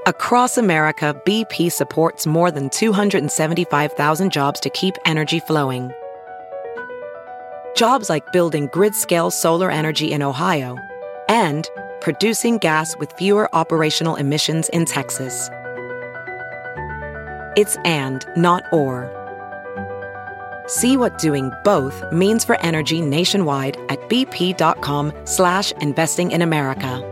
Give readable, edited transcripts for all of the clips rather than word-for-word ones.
Across America, BP supports more than 275,000 jobs to keep energy flowing. Jobs like building grid-scale solar energy in Ohio and producing gas with fewer operational emissions in Texas. It's and, not or. See what doing both means for energy nationwide at bp.com/investing in America.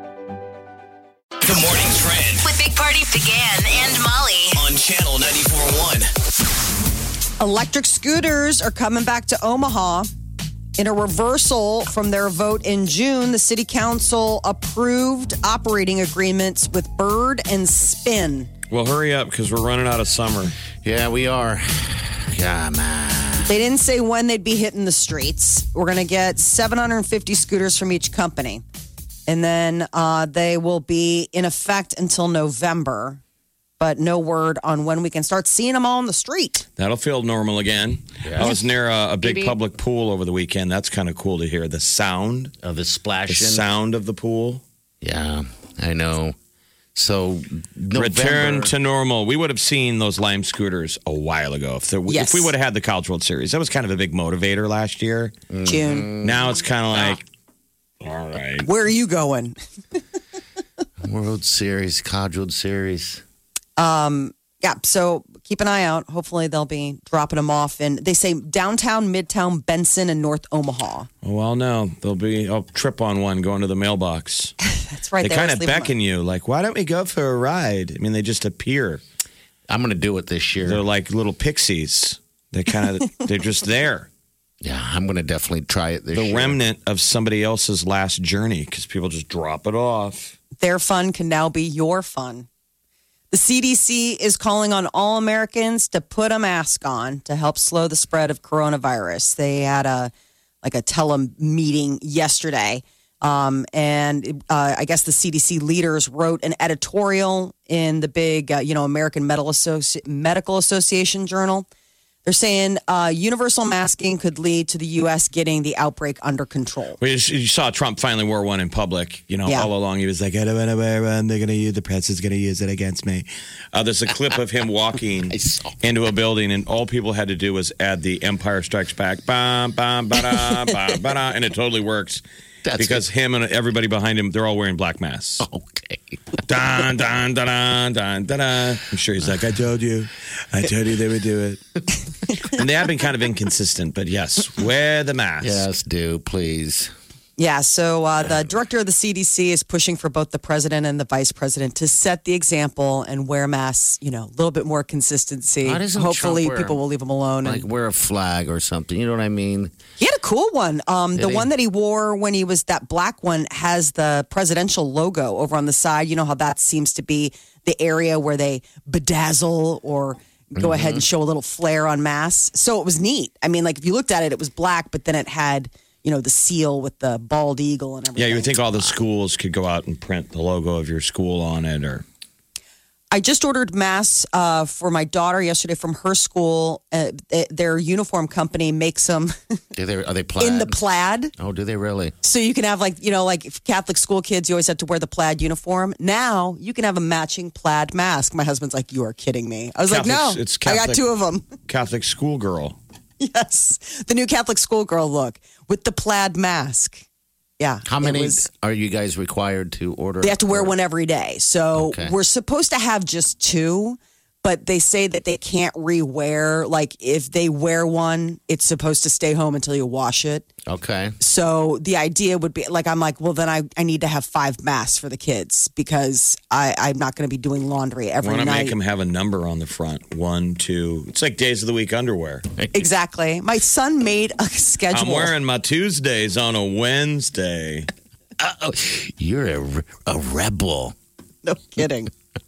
The Morning Trend With Big Party began and Molly. on Channel 94.1. Electric scooters are coming back to Omaha. In a reversal from their vote in June, the city council approved operating agreements with Bird and Spin. Well, hurry up because we're running out of summer. Yeah, we are. Come on. They didn't say when they'd be hitting the streets. We're going to get 750 scooters from each company. And then they will be in effect until November. But no word on when we can start seeing them all on the street. That'll feel normal again. Yeah. I was near a big Maybe. public pool over the weekend. That's kind of cool to hear. The sound. The splashing. The sound of the pool. Yeah, I know. So, Return to normal. We would have seen those Lime scooters a while ago if Yes. we would have had the College World Series. That was kind of a big motivator last year. June. Now it's kind of like, all right. Where are you going? World Series, College World Series. Yeah, so keep an eye out. Hopefully they'll be dropping them off in, they say, downtown, midtown, Benson, and North Omaha. Well, no, I'll trip on one going to the mailbox. That's right. They kind of beckon you, like, why don't we go for a ride? I mean, they just appear. I'm going to do it this year. They're like little pixies. They're just there. Yeah, I'm going to definitely try it this year. The remnant of somebody else's last journey because people just drop it off. Their fun can now be your fun. The CDC is calling on all Americans to put a mask on to help slow the spread of coronavirus. They had a tele-meeting yesterday. And I guess the CDC leaders wrote an editorial in the big, American Medical Association journal. They're saying universal masking could lead to the U.S. getting the outbreak under control. Well, you saw Trump finally wore one in public. Yeah. All along he was like, I don't want to wear one. The press is going to use it against me. There's a clip of him walking into a building, and all people had to do was add the Empire Strikes Back, bam, bam, ba-da, bam, ba-da, and it totally works. Because him and everybody behind him, they're all wearing black masks. Okay. Dun, dun, dun, dun, dun, dun, dun. I'm sure he's like, I told you they would do it. And they have been kind of inconsistent, but yes, wear the mask. Yes, do, please. Yeah, so the director of the CDC is pushing for both the president and the vice president to set the example and wear masks, a little bit more consistency. Why doesn't Hopefully Trump wear- people will leave him alone. Like wear a flag or something. You know what I mean? He had a cool one. The he? one that he wore when he was that black one has the presidential logo over on the side. You know how that seems to be the area where they bedazzle or go ahead and show a little flair on masks. So it was neat. I mean, like if you looked at it, it was black, but then it had, the seal with the bald eagle and everything. Yeah, you would think all the schools could go out and print the logo of your school on it, or I just ordered masks for my daughter yesterday from her school. Their uniform company makes them Are they plaid? in the plaid. Oh, do they really? So you can have like if Catholic school kids, you always had to wear the plaid uniform. Now you can have a matching plaid mask. My husband's like, you are kidding me. I was like, no, it's I Catholic, got two of them. Catholic schoolgirl. Yes. The new Catholic schoolgirl look with the plaid mask. Yeah. How many are you guys required to order? They have to wear one every day. So Okay. we're supposed to have just two, but they say that they can't re-wear. Like if they wear one, it's supposed to stay home until you wash it. Okay. So the idea would be I'm like, well, then I need to have 5 masks for the kids because I'm not going to be doing laundry every Want to night. make them have a number on the front. 1, 2. It's like days of the week underwear. Exactly. My son made a schedule. I'm wearing my Tuesdays on a Wednesday. You're a rebel. No kidding.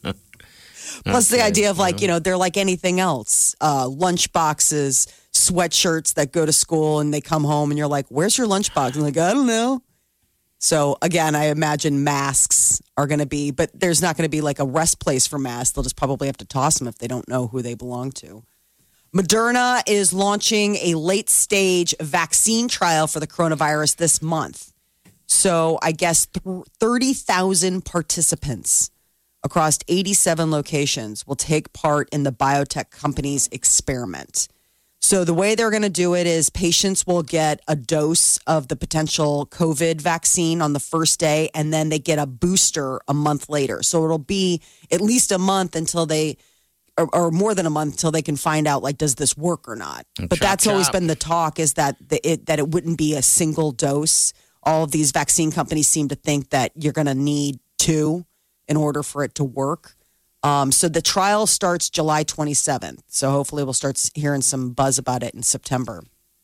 Plus the idea of they're like anything else. Lunch boxes, sweatshirts that go to school and they come home and you're like, where's your lunchbox? I'm like, I don't know. So again, I imagine masks are going to be, but there's not going to be like a rest place for masks. They'll just probably have to toss them if they don't know who they belong to. Moderna is launching a late stage vaccine trial for the coronavirus this month. So I guess 30,000 participants across 87 locations will take part in the biotech company's experiment. So the way they're going to do it is patients will get a dose of the potential COVID vaccine on the first day, and then they get a booster a month later. So it'll be at least a month until they, or more than a month until they can find out, like, does this work or not? But that's always been the talk, is that it wouldn't be a single dose. All of these vaccine companies seem to think that you're going to need 2 in order for it to work. So the trial starts July 27th. So hopefully we'll start hearing some buzz about it in September.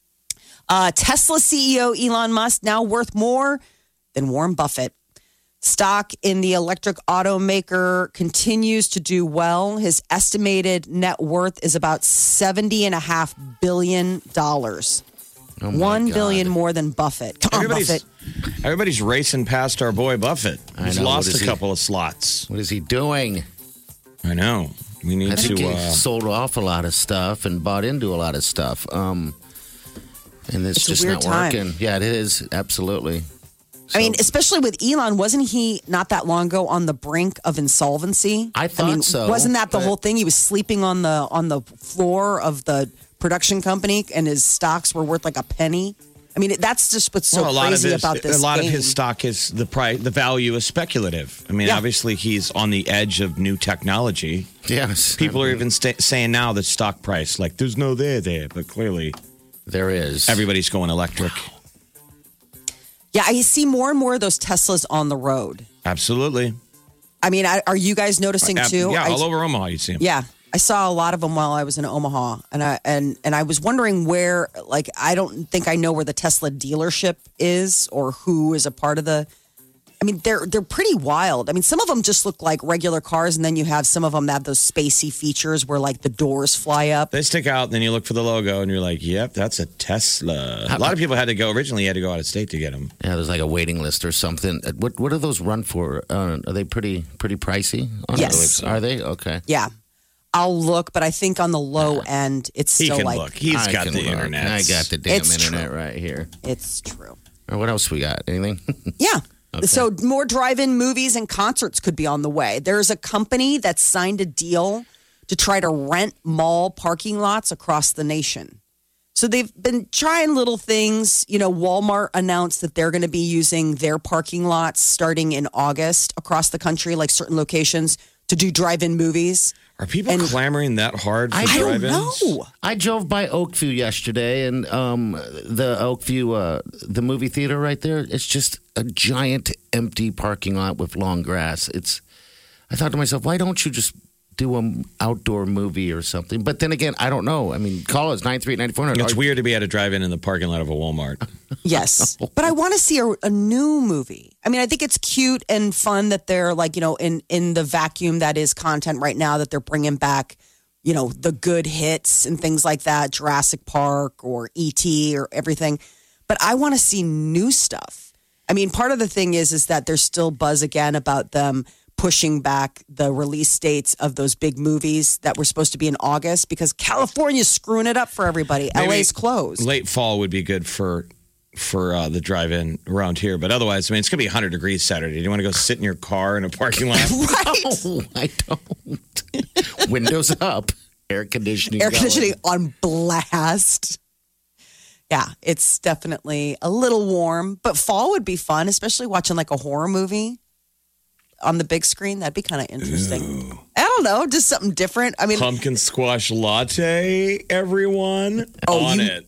Tesla CEO Elon Musk now worth more than Warren Buffett. Stock in the electric automaker continues to do well. His estimated net worth is about $70.5 billion. $1 billion more than Buffett. Come on, Buffett. Everybody's racing past our boy Buffett. He's lost a couple of slots. What is he doing? I know. We need I think to. he sold off a lot of stuff and bought into a lot of stuff. And it's just not working. Yeah, it is. Absolutely. I mean, especially with Elon, wasn't he not that long ago on the brink of insolvency? I thought so. Wasn't that the whole thing? He was sleeping on the floor of the production company, and his stocks were worth like a penny. I mean, that's just what's so crazy about this. A lot of his stock is the value is speculative. I mean, obviously he's on the edge of new technology. Yes, people are even saying now the stock price, like, there's no there, but clearly there is. Everybody's going electric. Yeah, I see more and more of those Teslas on the road. Absolutely. I mean, are you guys noticing too? Yeah, all over Omaha you see them. Yeah. I saw a lot of them while I was in Omaha, and I was wondering where, like, I don't think I know where the Tesla dealership is or who is a part of the. I mean, they're pretty wild. I mean, some of them just look like regular cars, and then you have some of them that have those spacey features where, like, the doors fly up. They stick out, and then you look for the logo, and you're like, "Yep, that's a Tesla." A lot of people had to go out of state to get them. Yeah, there's like a waiting list or something. What do those run for? Are they pretty pricey? Yes. Are they? Okay. Yeah. I'll look, but I think on the low end, it's still he can like. look. He's got the internet. I got the damn internet right here. It's true. Or what else we got? Anything? Yeah. Okay. So more drive-in movies and concerts could be on the way. There's a company that signed a deal to try to rent mall parking lots across the nation. So they've been trying little things. You know, Walmart announced that they're going to be using their parking lots starting in August across the country, like certain locations, to do drive-in movies. Are people clamoring that hard for drive-ins? I don't know. I drove by Oakview yesterday, and the Oakview, the movie theater right there, it's just a giant empty parking lot with long grass. I thought to myself, why don't you just do an outdoor movie or something? But then again, I don't know. I mean, call us 938-9400. It's weird to be at a drive-in in the parking lot of a Walmart. Yes. But I want to see a new movie. I mean, I think it's cute and fun that they're like, you know, in the vacuum that is content right now, that they're bringing back, you know, the good hits and things like that, Jurassic Park or E.T. or everything. But I want to see new stuff. I mean, part of the thing is that there's still buzz again about them pushing back the release dates of those big movies that were supposed to be in August because California's screwing it up for everybody. Maybe LA's closed. Late fall would be good for the drive-in around here. But otherwise, I mean, it's going to be 100 degrees Saturday. Do you want to go sit in your car in a parking lot? Right. No, I don't. Windows up. Air conditioning on blast. Yeah, it's definitely a little warm. But fall would be fun, especially watching like a horror movie on the big screen. That'd be kind of interesting. Ooh. I don't know, just something different. I mean, pumpkin squash latte, everyone. It.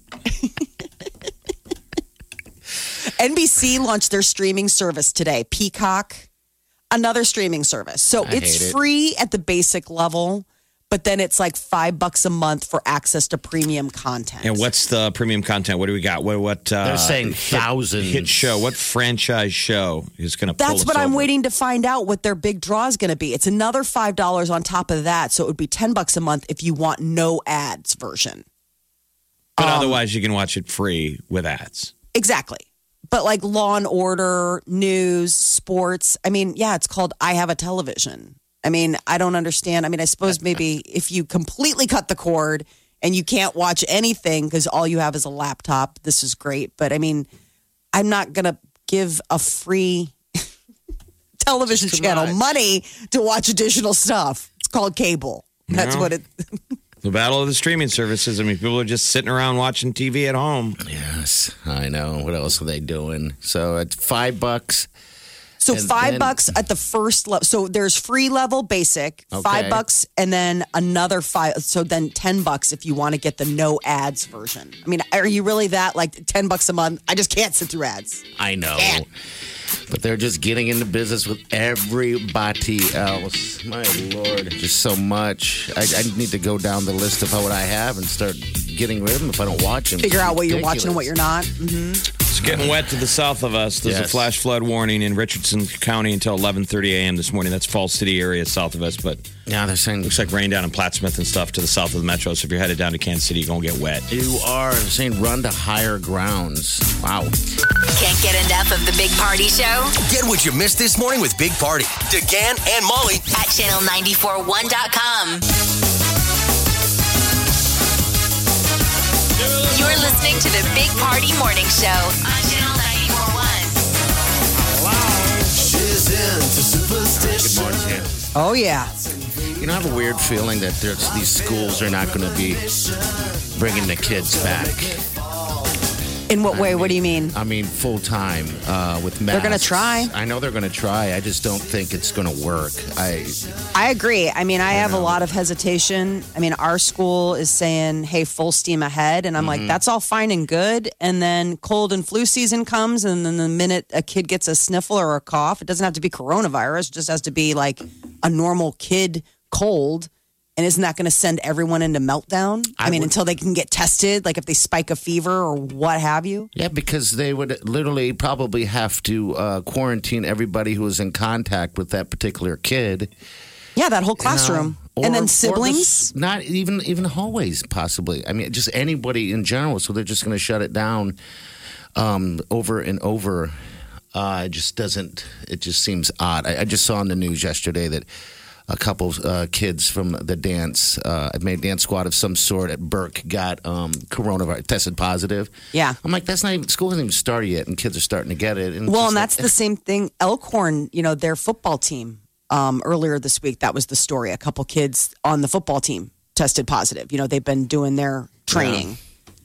NBC launched their streaming service today. Peacock, another streaming service. So it's free at the basic level, but then it's like $5 a month for access to premium content. And what's the premium content? What do we got? What they're saying thousands hit show. What franchise show is going to pull That's what I'm waiting to find out what their big draw is going to be. It's another $5 on top of that. So it would be $10 a month if you want no ads version. But otherwise you can watch it free with ads. Exactly. But like Law and Order, news, sports. I mean, yeah, it's called I Have a Television. I mean, I don't understand. I mean, I suppose maybe if you completely cut the cord and you can't watch anything because all you have is a laptop, this is great. But I mean, I'm not going to give a free television It's too channel, much. money to watch additional stuff. It's called cable. That's No. what it. The battle of the streaming services. I mean, people are just sitting around watching TV at home. Yes, I know. What else are they doing? So at $5. So And $5 at the first level. So there's free level basic, Okay. $5, and then another $5. So then $10 if you want to get the no ads version. I mean, are you really that like $10 a month? I just can't sit through ads. I know. But they're just getting into business with everybody else. My Lord, just so much. I need to go down the list of what I have and start getting rid of them if I don't watch them. Figure out what you're watching and what you're not. It's getting wet to the south of us. There's a Yes. flash flood warning in Richardson County until 11:30 a.m. this morning. That's Falls City area south of us, but Yeah, they're saying looks like rain down in Plattsmouth and stuff to the south of the metro. So if you're headed down to Kansas City, you're going to get wet. you are saying run to higher grounds. Wow. Can't get enough of the Big Party Show Get what you missed this morning with Big Party, DeGan and Molly at channel941.com. You're listening to the Big Party Morning Show on channel 941. Good morning, Jan. Oh, yeah. You know, I have a weird feeling that these schools are not going to be bringing the kids back. In what way? What do you mean? I mean, full time with masks. They're gonna try. I know they're going to try. I just don't think it's going to work. I agree. I mean, I have a lot of hesitation. I mean, our school is saying, hey, full steam ahead. And I'm like, that's all fine and good. And then cold and flu season comes. And then the minute a kid gets a sniffle or a cough, it doesn't have to be coronavirus. It just has to be like a normal kid cold. And isn't that going to send everyone into meltdown? I mean, until they can get tested, like if they spike a fever or what have you. Yeah, because they would literally probably have to quarantine everybody who was in contact with that particular kid. Yeah, that whole classroom. Or- and or then the- siblings. not even hallways, possibly. I mean, just anybody in general. So they're just going to shut it down over and over. It just doesn't. It just seems odd. I just saw on the news yesterday that a couple kids from the dance, dance squad of some sort at Burke got coronavirus, tested positive. Yeah. I'm like, that's not even, school hasn't even started yet, and kids are starting to get it. And Well, it's and just that's the same thing. Elkhorn, their football team earlier this week, that was the story. A couple kids on the football team tested positive. They've been doing their training.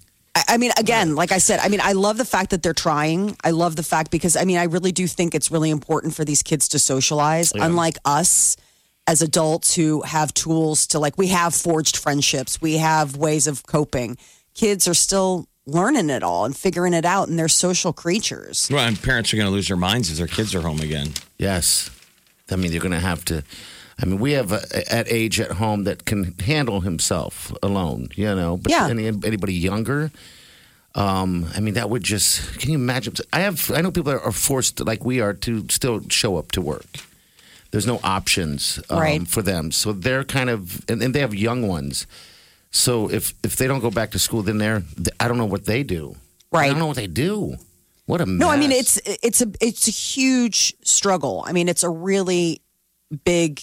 I mean, again, like I said, I love the fact that they're trying. I love the fact because, I really do think it's really important for these kids to socialize. Unlike us as adults who have tools to, like, we have forged friendships. We have ways of coping. Kids are still learning it all and figuring it out, and they're social creatures. Well, and parents are going to lose their minds as their kids are home again. Yes. I mean, you're going to have to. I mean, we have at age at home that can handle himself alone, But Yeah. anybody younger, I mean, that would just. Can you imagine? I know people are forced, like we are, to still show up to work. There's no options Right. for them, so they're kind of, and they have young ones. So if they don't go back to school, then I don't know what they do. Right. I don't know what they do. What a mess. No, I mean it's a huge struggle. I mean, it's a really big.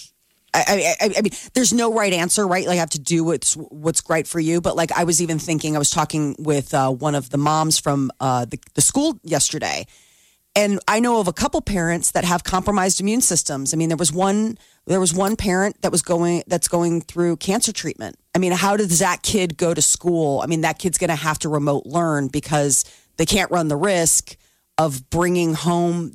I mean, there's no right answer, right? Like, I have to do what's right for you. But like, I was even thinking, I was talking with one of the moms from the school yesterday, and I know of a couple parents that have compromised immune systems. I mean, there was one parent that's going through cancer treatment. I mean, how does that kid go to school? I mean, that kid's going to have to remote learn because they can't run the risk of bringing home,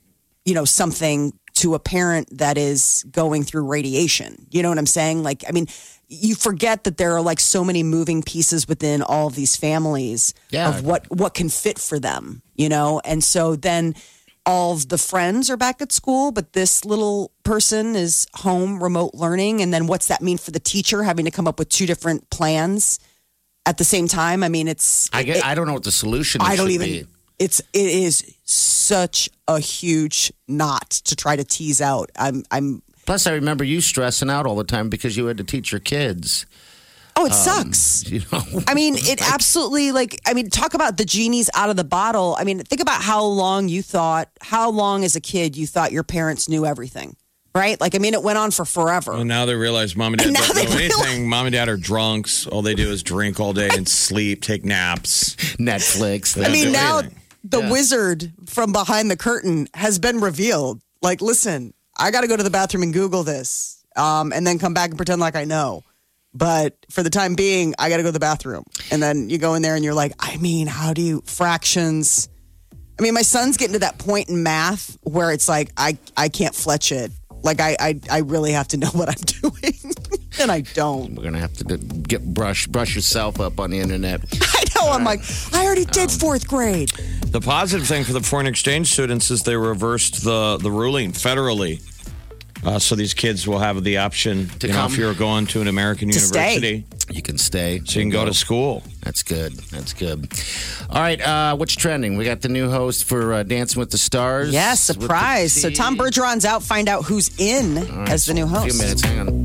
something to a parent that is going through radiation. You know what I'm saying? Like, I mean, you forget that there are like so many moving pieces within all of these families of what can fit for them, And so then all of the friends are back at school, but this little person is home remote learning. And then what's that mean for the teacher having to come up with two different plans at the same time? I mean, I don't know what the solution I don't should even. be. It is such a huge knot to try to tease out. I'm. Plus, I remember you stressing out all the time because you had to teach your kids. Oh, it sucks. I mean, it absolutely talk about the genie's out of the bottle. I mean, think about how long as a kid you thought your parents knew everything, right? Like, I mean, it went on for forever. Well, now they realize mom and dad And now don't they know anything. Mom and dad are drunks. All they do is drink all day and sleep, take naps. Netflix. They I don't mean, do now anything. the wizard from behind the curtain has been revealed. Like, listen, I got to go to the bathroom and Google this and then come back and pretend like I know. But for the time being, I got to go to the bathroom. And then you go in there and you're like, I mean, how do you fractions? I mean, my son's getting to that point in math where it's like, I can't fletch it. Like, I really have to know what I'm doing. And I don't. We're going to have to brush yourself up on the internet. I know. I'm like, I already did fourth grade. The positive thing for the foreign exchange students is they reversed the ruling federally. So these kids will have the option, to if you're going to an American university. You can stay. So you can go to school. That's good. All right, what's trending? We got the new host for Dancing with the Stars. Yes, surprise. So Tom Bergeron's out. Find out who's in as the new host. A few minutes, hang on.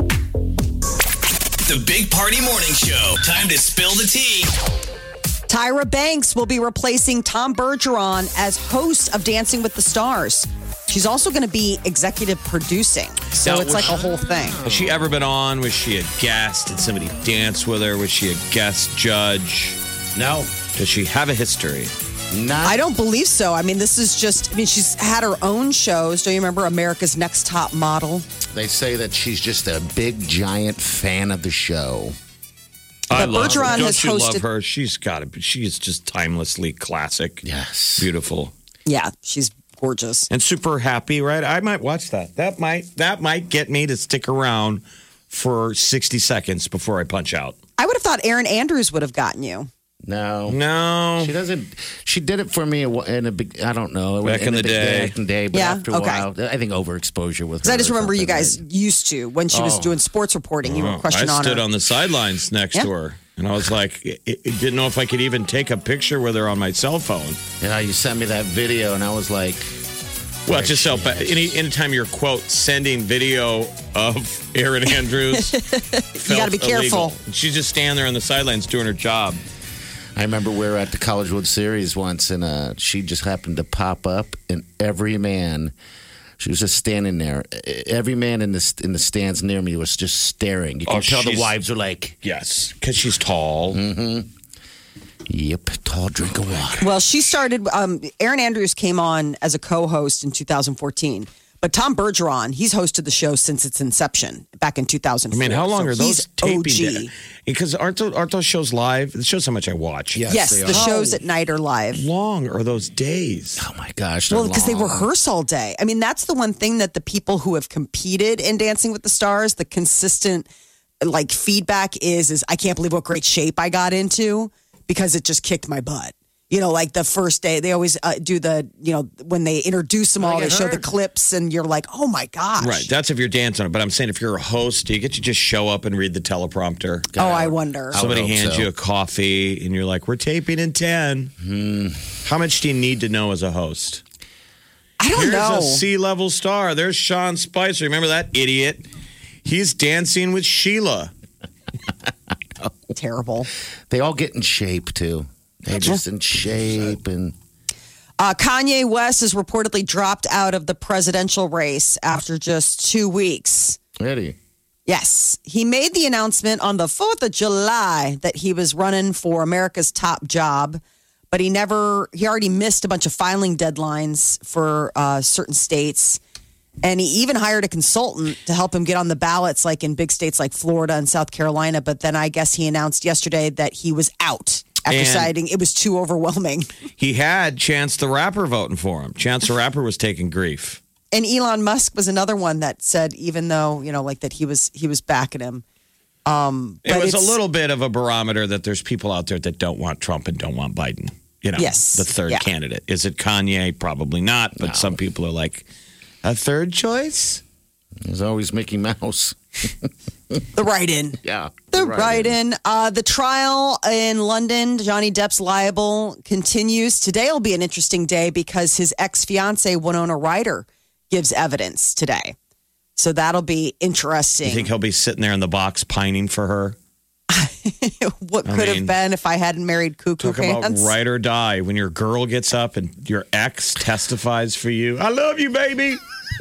The Big Party Morning Show. Time to spill the tea. Tyra Banks will be replacing Tom Bergeron as host of Dancing with the Stars. She's also going to be executive producing. So Now, it's like a whole thing. Has she ever been on? Was she a guest? Did somebody dance with her? Was she a guest judge? No. Does she have a history? I don't believe so. I mean, this is just, she's had her own shows. Do you remember America's Next Top Model? They say that she's just a big, giant fan of the show. I love Bergeron her. Don't has you hosted- love her? She's just timelessly classic. Yes. Beautiful. Yeah, she's gorgeous. And super happy, right? I might watch that. That might get me to stick around for 60 seconds before I punch out. I would have thought Erin Andrews would have gotten you. No. She doesn't. She did it for me in a big. I don't know. Back in the day. Back in the day, but Yeah, after a while, I think overexposure with her. Because I just or remember you something, guys right? used to, when she was doing sports reporting, you were questioning I on stood her. on the sidelines next Yeah. to her. And I was like, didn't know if I could even take a picture with her on my cell phone. Yeah, you sent me that video, and I was like, Well, it's just so bad. Anytime you're, quote, sending video of Erin Andrews, You got to be careful. She's just standing there on the sidelines doing her job. I remember we were at the College World Series once, and she just happened to pop up, and every man, she was just standing there. Every man in the stands near me was just staring. You can tell the wives are like, yes, because she's tall. Mm-hmm. Yep, tall drink of water. Well, she started, Erin Andrews came on as a co-host in 2014. But Tom Bergeron, he's hosted the show since its inception back in 2004. I mean, how long So are those he's taping? OG. Because aren't those shows live? It shows how much I watch. Yes, they the are. shows at night are live. How long are those days? Oh my gosh. Well, because they long. rehearse all day. I mean, that's the one thing that the people who have competed in Dancing with the Stars, the consistent like feedback is I can't believe what great shape I got into because it just kicked my butt. You know, like the first day, they always do the, when they introduce them all, they show the clips and you're like, oh my gosh. Right. That's if you're dancing. But I'm saying if you're a host, do you get to just show up and read the teleprompter? Oh, I wonder. Somebody hope hands so. you a coffee and you're like, we're taping in 10. How much do you need to know as a host? I don't Here's know. a C-level star. There's Sean Spicer. Remember that idiot? He's dancing with Sheila. Terrible. They all get in shape, too. They're just in shape and... Kanye West has reportedly dropped out of the presidential race after just 2 weeks. Ready. Yes. He made the announcement on the 4th of July that he was running for America's top job, but he already missed a bunch of filing deadlines for certain states. And he even hired a consultant to help him get on the ballots, like in big states like Florida and South Carolina. But then I guess he announced yesterday that he was out after And- deciding it was too overwhelming. He had Chance the Rapper voting for him. Chance the Rapper was taking grief. And Elon Musk was another one that said, even though, like that he was backing him. It But was a it's- little bit of a barometer that there's people out there that don't want Trump and don't want Biden. Yes. The third Yeah. candidate. Is it Kanye? Probably not. But some people are like, a third choice? There's always Mickey Mouse. The write-in. Yeah. The write-in. The trial in London, Johnny Depp's libel continues. Today will be an interesting day because his ex-fiancee, Winona Ryder, gives evidence today. So that'll be interesting. You think he'll be sitting there in the box pining for her? What could mean, have been if I hadn't married Cuckoo Talk about Pants? ride or die. When your girl gets up and your ex testifies for you. I love you, baby.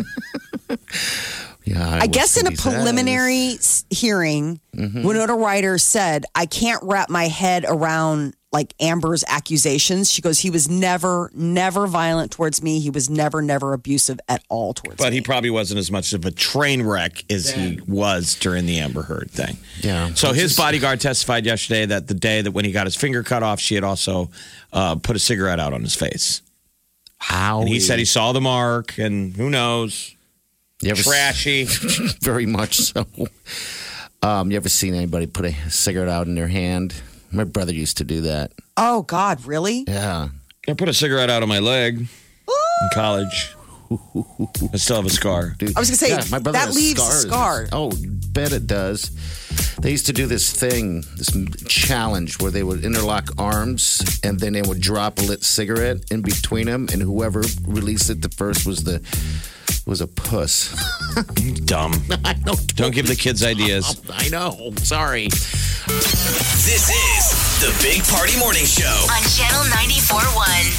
Yeah. I guess in a preliminary hearing, Winona Ryder said, I can't wrap my head around like Amber's accusations. She goes, he was never violent towards me. He was never abusive at all towards me. But he probably wasn't as much of a train wreck as he was during the Amber Heard thing. Yeah. So his bodyguard testified yesterday that the day that when he got his finger cut off, she had also put a cigarette out on his face. How? And he said he saw the mark, and who knows? Trashy. Very much so. You ever seen anybody put a cigarette out in their hand? My brother used to do that. Oh, God, really? Yeah. I put a cigarette out on my leg in college. I still have a scar. Dude, I was going to say, my brother that has leaves scars. a scar. Oh, bet it does. They used to do this thing, this challenge where they would interlock arms and then they would drop a lit cigarette in between them, and whoever released it the first was a puss. Dumb. I know. Don't give the kids ideas. I know. Sorry. This is the Big Party Morning Show. On Channel 94.1.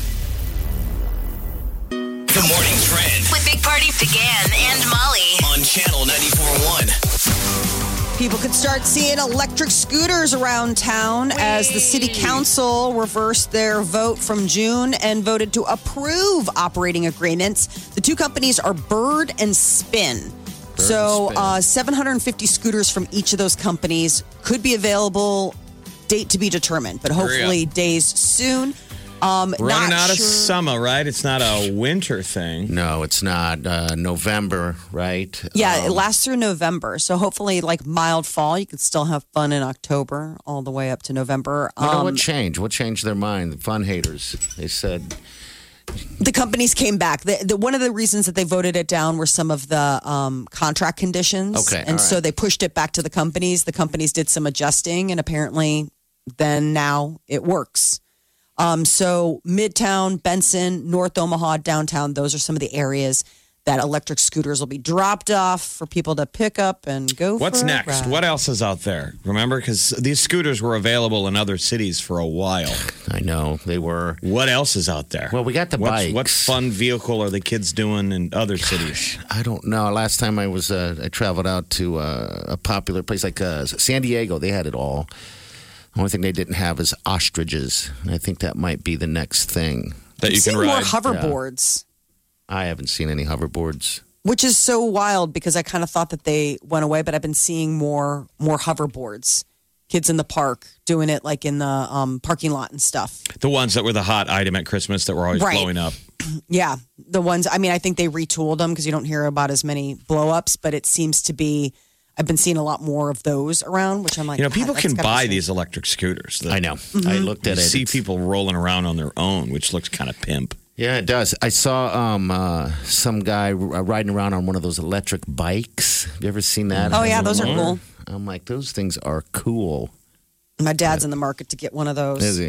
The Morning Trend With Big Party began and Molly. on Channel 94.1. People could start seeing electric scooters around town as the city council reversed their vote from June and voted to approve operating agreements. The two companies are Bird and Spin. So 750 scooters from each of those companies could be available, date to be determined, but hopefully days soon. Running out of summer, right? It's not a winter thing. No, it's not. November, right? Yeah, it lasts through November. So hopefully, like mild fall, you could still have fun in October all the way up to November. What changed? What changed their mind? The fun haters. They said the companies came back. One of the reasons that they voted it down were some of the contract conditions. Okay, and so they pushed it back to the companies. The companies did some adjusting, and apparently then now it works. So Midtown, Benson, North Omaha, downtown, those are some of the areas that electric scooters will be dropped off for people to pick up and go What's for a next? ride. What else is out there? Remember? Because these scooters were available in other cities for a while. I know they were. What else is out there? Well, we got the bikes. What fun vehicle are the kids doing in other cities? I don't know. Last time I was, I traveled out to a popular place like San Diego. They had it all. The only thing they didn't have is ostriches. And I think that might be the next thing. That you can I've seen more ride. hoverboards. I haven't seen any hoverboards. Which is so wild because I kind of thought that they went away, but I've been seeing more hoverboards. Kids in the park doing it like in the parking lot and stuff. The ones that were the hot item at Christmas that were always Right. blowing up. Yeah, the ones, I mean, I think they retooled them because you don't hear about as many blow-ups, but it seems to be, I've been seeing a lot more of those around, which I'm like, You know, God, people that's can gotta buy be- these electric scooters. I know. I looked You at it. see It's- people rolling around on their own, which looks kind of pimp. Yeah, it does. I saw some guy riding around on one of those electric bikes. Have you ever seen that? Oh, yeah, those are cool. I'm like, those things are cool. My dad's in the market to get one of those. Is he?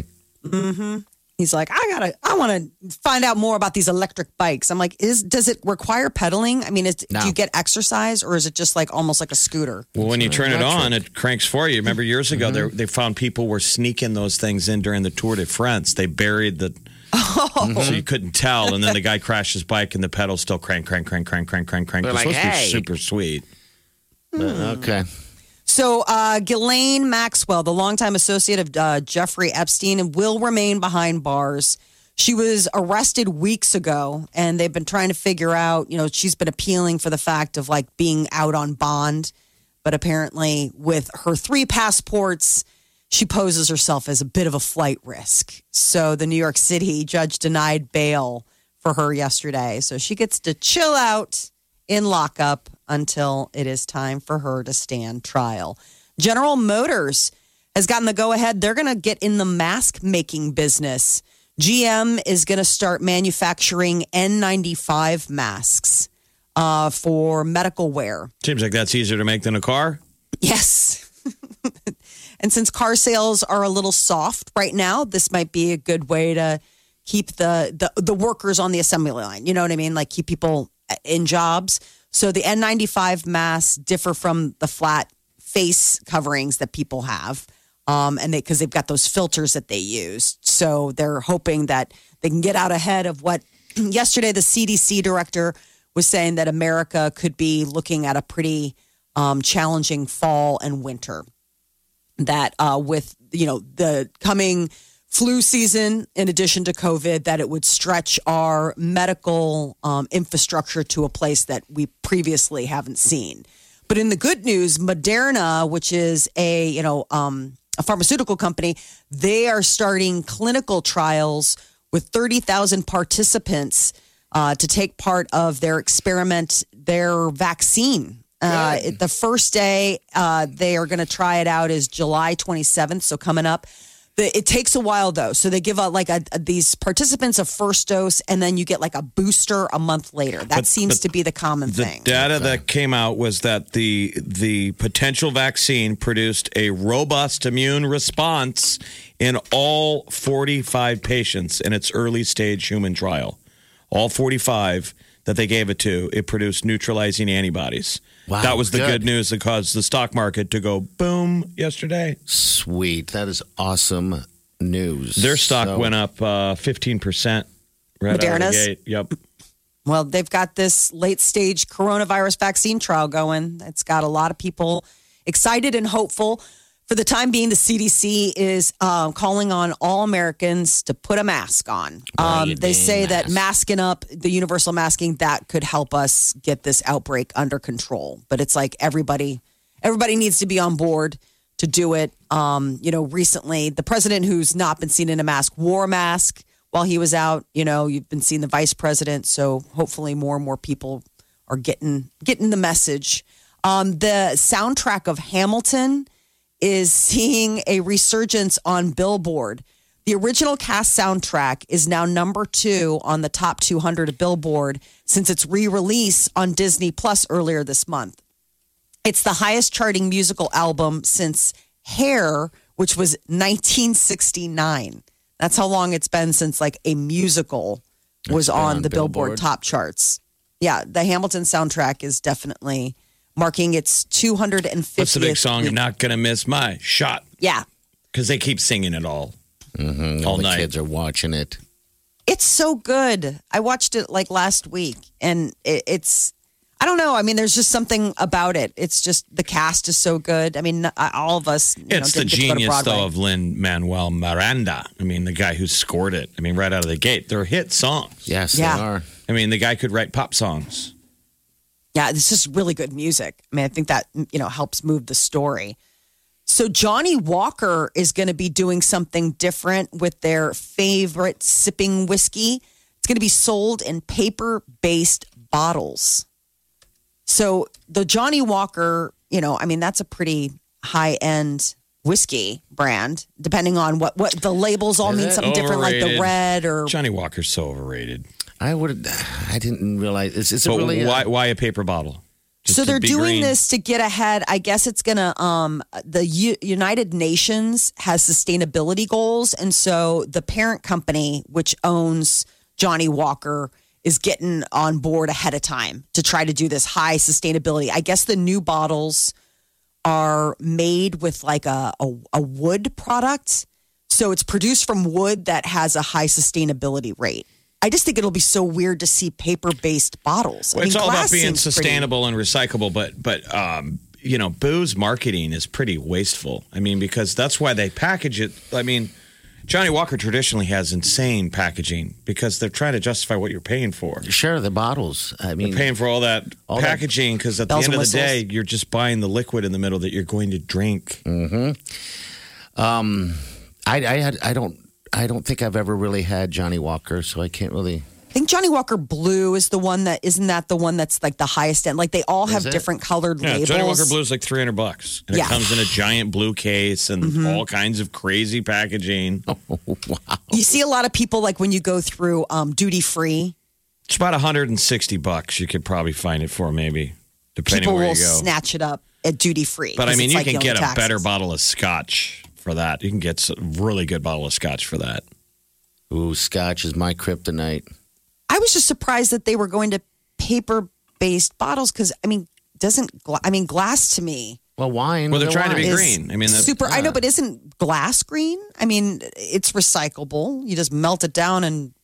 He's like, I want to find out more about these electric bikes. I'm like, does it require pedaling? I mean, No. do you get exercise or is it just like almost like a scooter? Well, when you turn it electric. on, it cranks for you. Remember years ago, they found people were sneaking those things in during the Tour de France. They buried the... So you couldn't tell. And then the guy crashed his bike and the pedals still crank. They're It's like, supposed to "Hey." be super sweet. Okay. So Ghislaine Maxwell, the longtime associate of Jeffrey Epstein, will remain behind bars. She was arrested weeks ago, and they've been trying to figure out, you know, she's been appealing for the fact of like being out on bond. But apparently with her 3 passports, she poses herself as a bit of a flight risk. So the New York City judge denied bail for her yesterday. So she gets to chill out in lockup until it is time for her to stand trial. General Motors has gotten the go-ahead. They're going to get in the mask-making business. GM is going to start manufacturing N95 masks for medical wear. Seems like that's easier to make than a car. Yes. And since car sales are a little soft right now, this might be a good way to keep the workers on the assembly line. You know what I mean? Like keep people in jobs. So the N95 masks differ from the flat face coverings that people have. And because they've got those filters that they use. So they're hoping that they can get out ahead of what yesterday the CDC director was saying that America could be looking at a pretty challenging fall and winter. that with, the coming flu season, in addition to COVID, that it would stretch our medical infrastructure to a place that we previously haven't seen. But in the good news, Moderna, which is a pharmaceutical company, they are starting clinical trials with 30,000 participants to take part of their experiment, their vaccine. The first day they are going to try it out is July 27th, so coming up. It takes a while, though. So they give out these participants a first dose, and then you get like a booster a month later. That seems to be the common thing. The data that came out was that the potential vaccine produced a robust immune response in all 45 patients in its early stage human trial. All 45 that they gave it to, it produced neutralizing antibodies. Wow, that was the good news that caused the stock market to go boom yesterday. Sweet. That is awesome news. Their stock went up 15% right out of the gate. Yep. Well, they've got this late stage coronavirus vaccine trial going. It's got a lot of people excited and hopeful. For the time being, the CDC is calling on all Americans to put a mask on. They say that masking up, the universal masking, that could help us get this outbreak under control. But it's like everybody needs to be on board to do it. Recently, the president, who's not been seen in a mask, wore a mask while he was out. You've been seeing the vice president. So hopefully more and more people are getting the message. The soundtrack of Hamilton is seeing a resurgence on Billboard. The original cast soundtrack is now number 2 on the top 200 of Billboard since its re-release on Disney Plus earlier this month. It's the highest charting musical album since Hair, which was 1969. That's how long it's been since a musical was on the Billboard top charts. Yeah, the Hamilton soundtrack is definitely marking its 250th. What's the big song? You're not going to miss my shot. Yeah. Because they keep singing it all All the night. kids are watching it. It's so good. I watched it last week, and it's, I don't know. I mean, there's just something about it. It's just the cast is so good. I mean, all of us. It's the genius, though, of Lin-Manuel Miranda. I mean, the guy who scored it. I mean, right out of the gate. They're hit songs. Yes, they are. I mean, the guy could write pop songs. Yeah, it's just really good music. I mean, I think that, helps move the story. So Johnny Walker is going to be doing something different with their favorite sipping whiskey. It's going to be sold in paper-based bottles. So the Johnny Walker, that's a pretty high-end whiskey brand, depending on what the labels all mean something different, like the red or... Johnny Walker's so overrated. I didn't realize. Is it really? Why a paper bottle? Just so they're doing green? this to get ahead. I guess it's gonna. The United Nations has sustainability goals, and so the parent company, which owns Johnny Walker, is getting on board ahead of time to try to do this high sustainability. I guess the new bottles are made with a wood product, so it's produced from wood that has a high sustainability rate. I just think it'll be so weird to see paper-based bottles. Well, it's all about being sustainable and recyclable, but booze marketing is pretty wasteful. I mean, because that's why they package it. I mean, Johnny Walker traditionally has insane packaging because they're trying to justify what you're paying for. Sure, the bottles. I mean, you're paying for all that packaging because at the end of the day, you're just buying the liquid in the middle that you're going to drink. Mm-hmm. I don't think I've ever really had Johnny Walker, so I can't really. I think Johnny Walker Blue is the one that isn't that the one that's the highest end. They all have different colored labels. Johnny Walker Blue is like $300, and it comes in a giant blue case and all kinds of crazy packaging. Oh, wow! You see a lot of people when you go through duty free. It's about $160. You could probably find it for maybe, depending people where you will go. Snatch it up at duty free. But I mean, you can get a better bottle of scotch for that. You can get a really good bottle of scotch for that. Ooh, scotch is my kryptonite. I was just surprised that they were going to paper-based bottles because, glass to me. Well, wine. Well, they're trying to be green. I mean, super. Yeah. I know, but isn't glass green? I mean, it's recyclable. You just melt it down and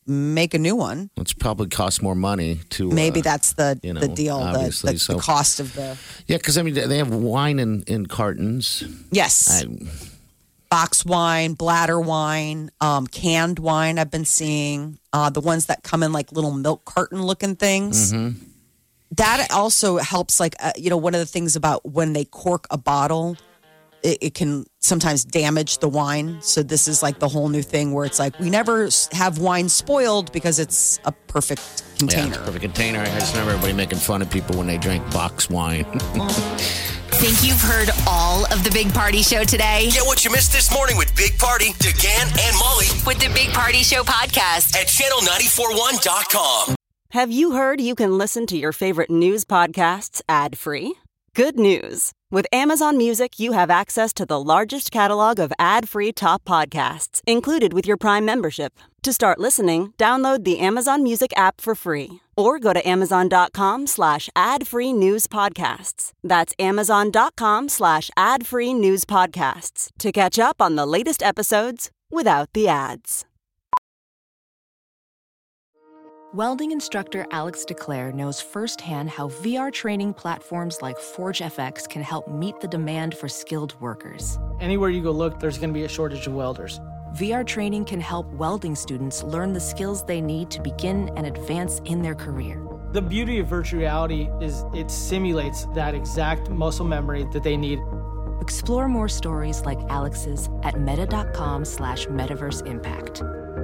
make a new one. It's probably cost more money to. Maybe that's the deal. Obviously, the cost of the. Yeah, because I mean they have wine in cartons. Yes. Box wine, bladder wine, canned wine. I've been seeing the ones that come in like little milk carton looking things. Mm-hmm. That also helps. Like one of the things about when they cork a bottle, it can sometimes damage the wine. So this is like the whole new thing where it's like we never have wine spoiled because it's a perfect container. Yeah, it's a perfect container. I just remember everybody making fun of people when they drank box wine. Think you've heard all of the Big Party Show today? Get what you missed this morning with Big Party, DeGan, and Molly With the Big Party Show podcast. at channel941.com. Have you heard you can listen to your favorite news podcasts ad-free? Good news. With Amazon Music, you have access to the largest catalog of ad-free top podcasts included with your Prime membership. To start listening, download the Amazon Music app for free or go to amazon.com/ad-free news podcasts. That's amazon.com/ad-free news podcasts to catch up on the latest episodes without the ads. Welding instructor Alex DeClaire knows firsthand how VR training platforms like ForgeFX can help meet the demand for skilled workers. Anywhere you go look, there's going to be a shortage of welders. VR training can help welding students learn the skills they need to begin and advance in their career. The beauty of virtual reality is it simulates that exact muscle memory that they need. Explore more stories like Alex's at meta.com/metaverseimpact.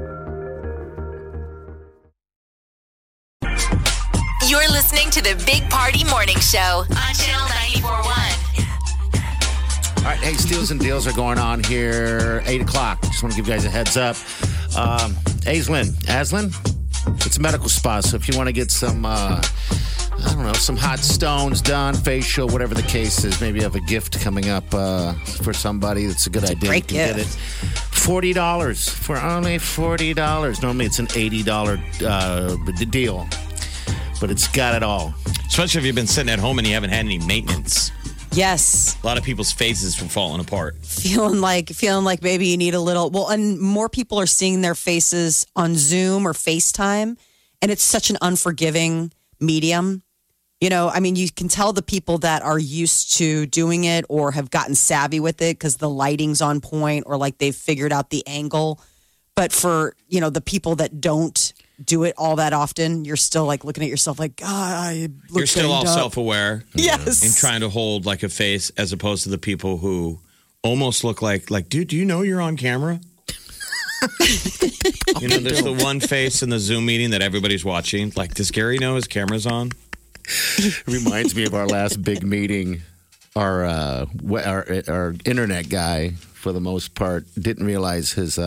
You're listening to the Big Party Morning Show on Channel 94.1. All right, hey, steals and deals are going on here. 8 o'clock. Just want to give you guys a heads up. Aslan, it's a medical spa. So if you want to get some, some hot stones done, facial, whatever the case is, maybe you have a gift coming up for somebody. That's a good idea. Great you can gift. get it. $40 for only $40. Normally it's an $80 deal. But it's got it all. Especially if you've been sitting at home and you haven't had any maintenance. Yes. A lot of people's faces were falling apart. Feeling like maybe you need a little. Well, and more people are seeing their faces on Zoom or FaceTime, and it's such an unforgiving medium. You can tell the people that are used to doing it or have gotten savvy with it because the lighting's on point or like they've figured out the angle. But for, the people that don't do it all that often, you're still like looking at yourself like, God, I look You're still all up. self-aware. Yes. And trying to hold like a face as opposed to the people who almost look like, dude, do you know you're on camera? There's the one face in the Zoom meeting that everybody's watching. Like, does Gary know his camera's on? Reminds me of our last big meeting. Our internet guy, for the most part, didn't realize his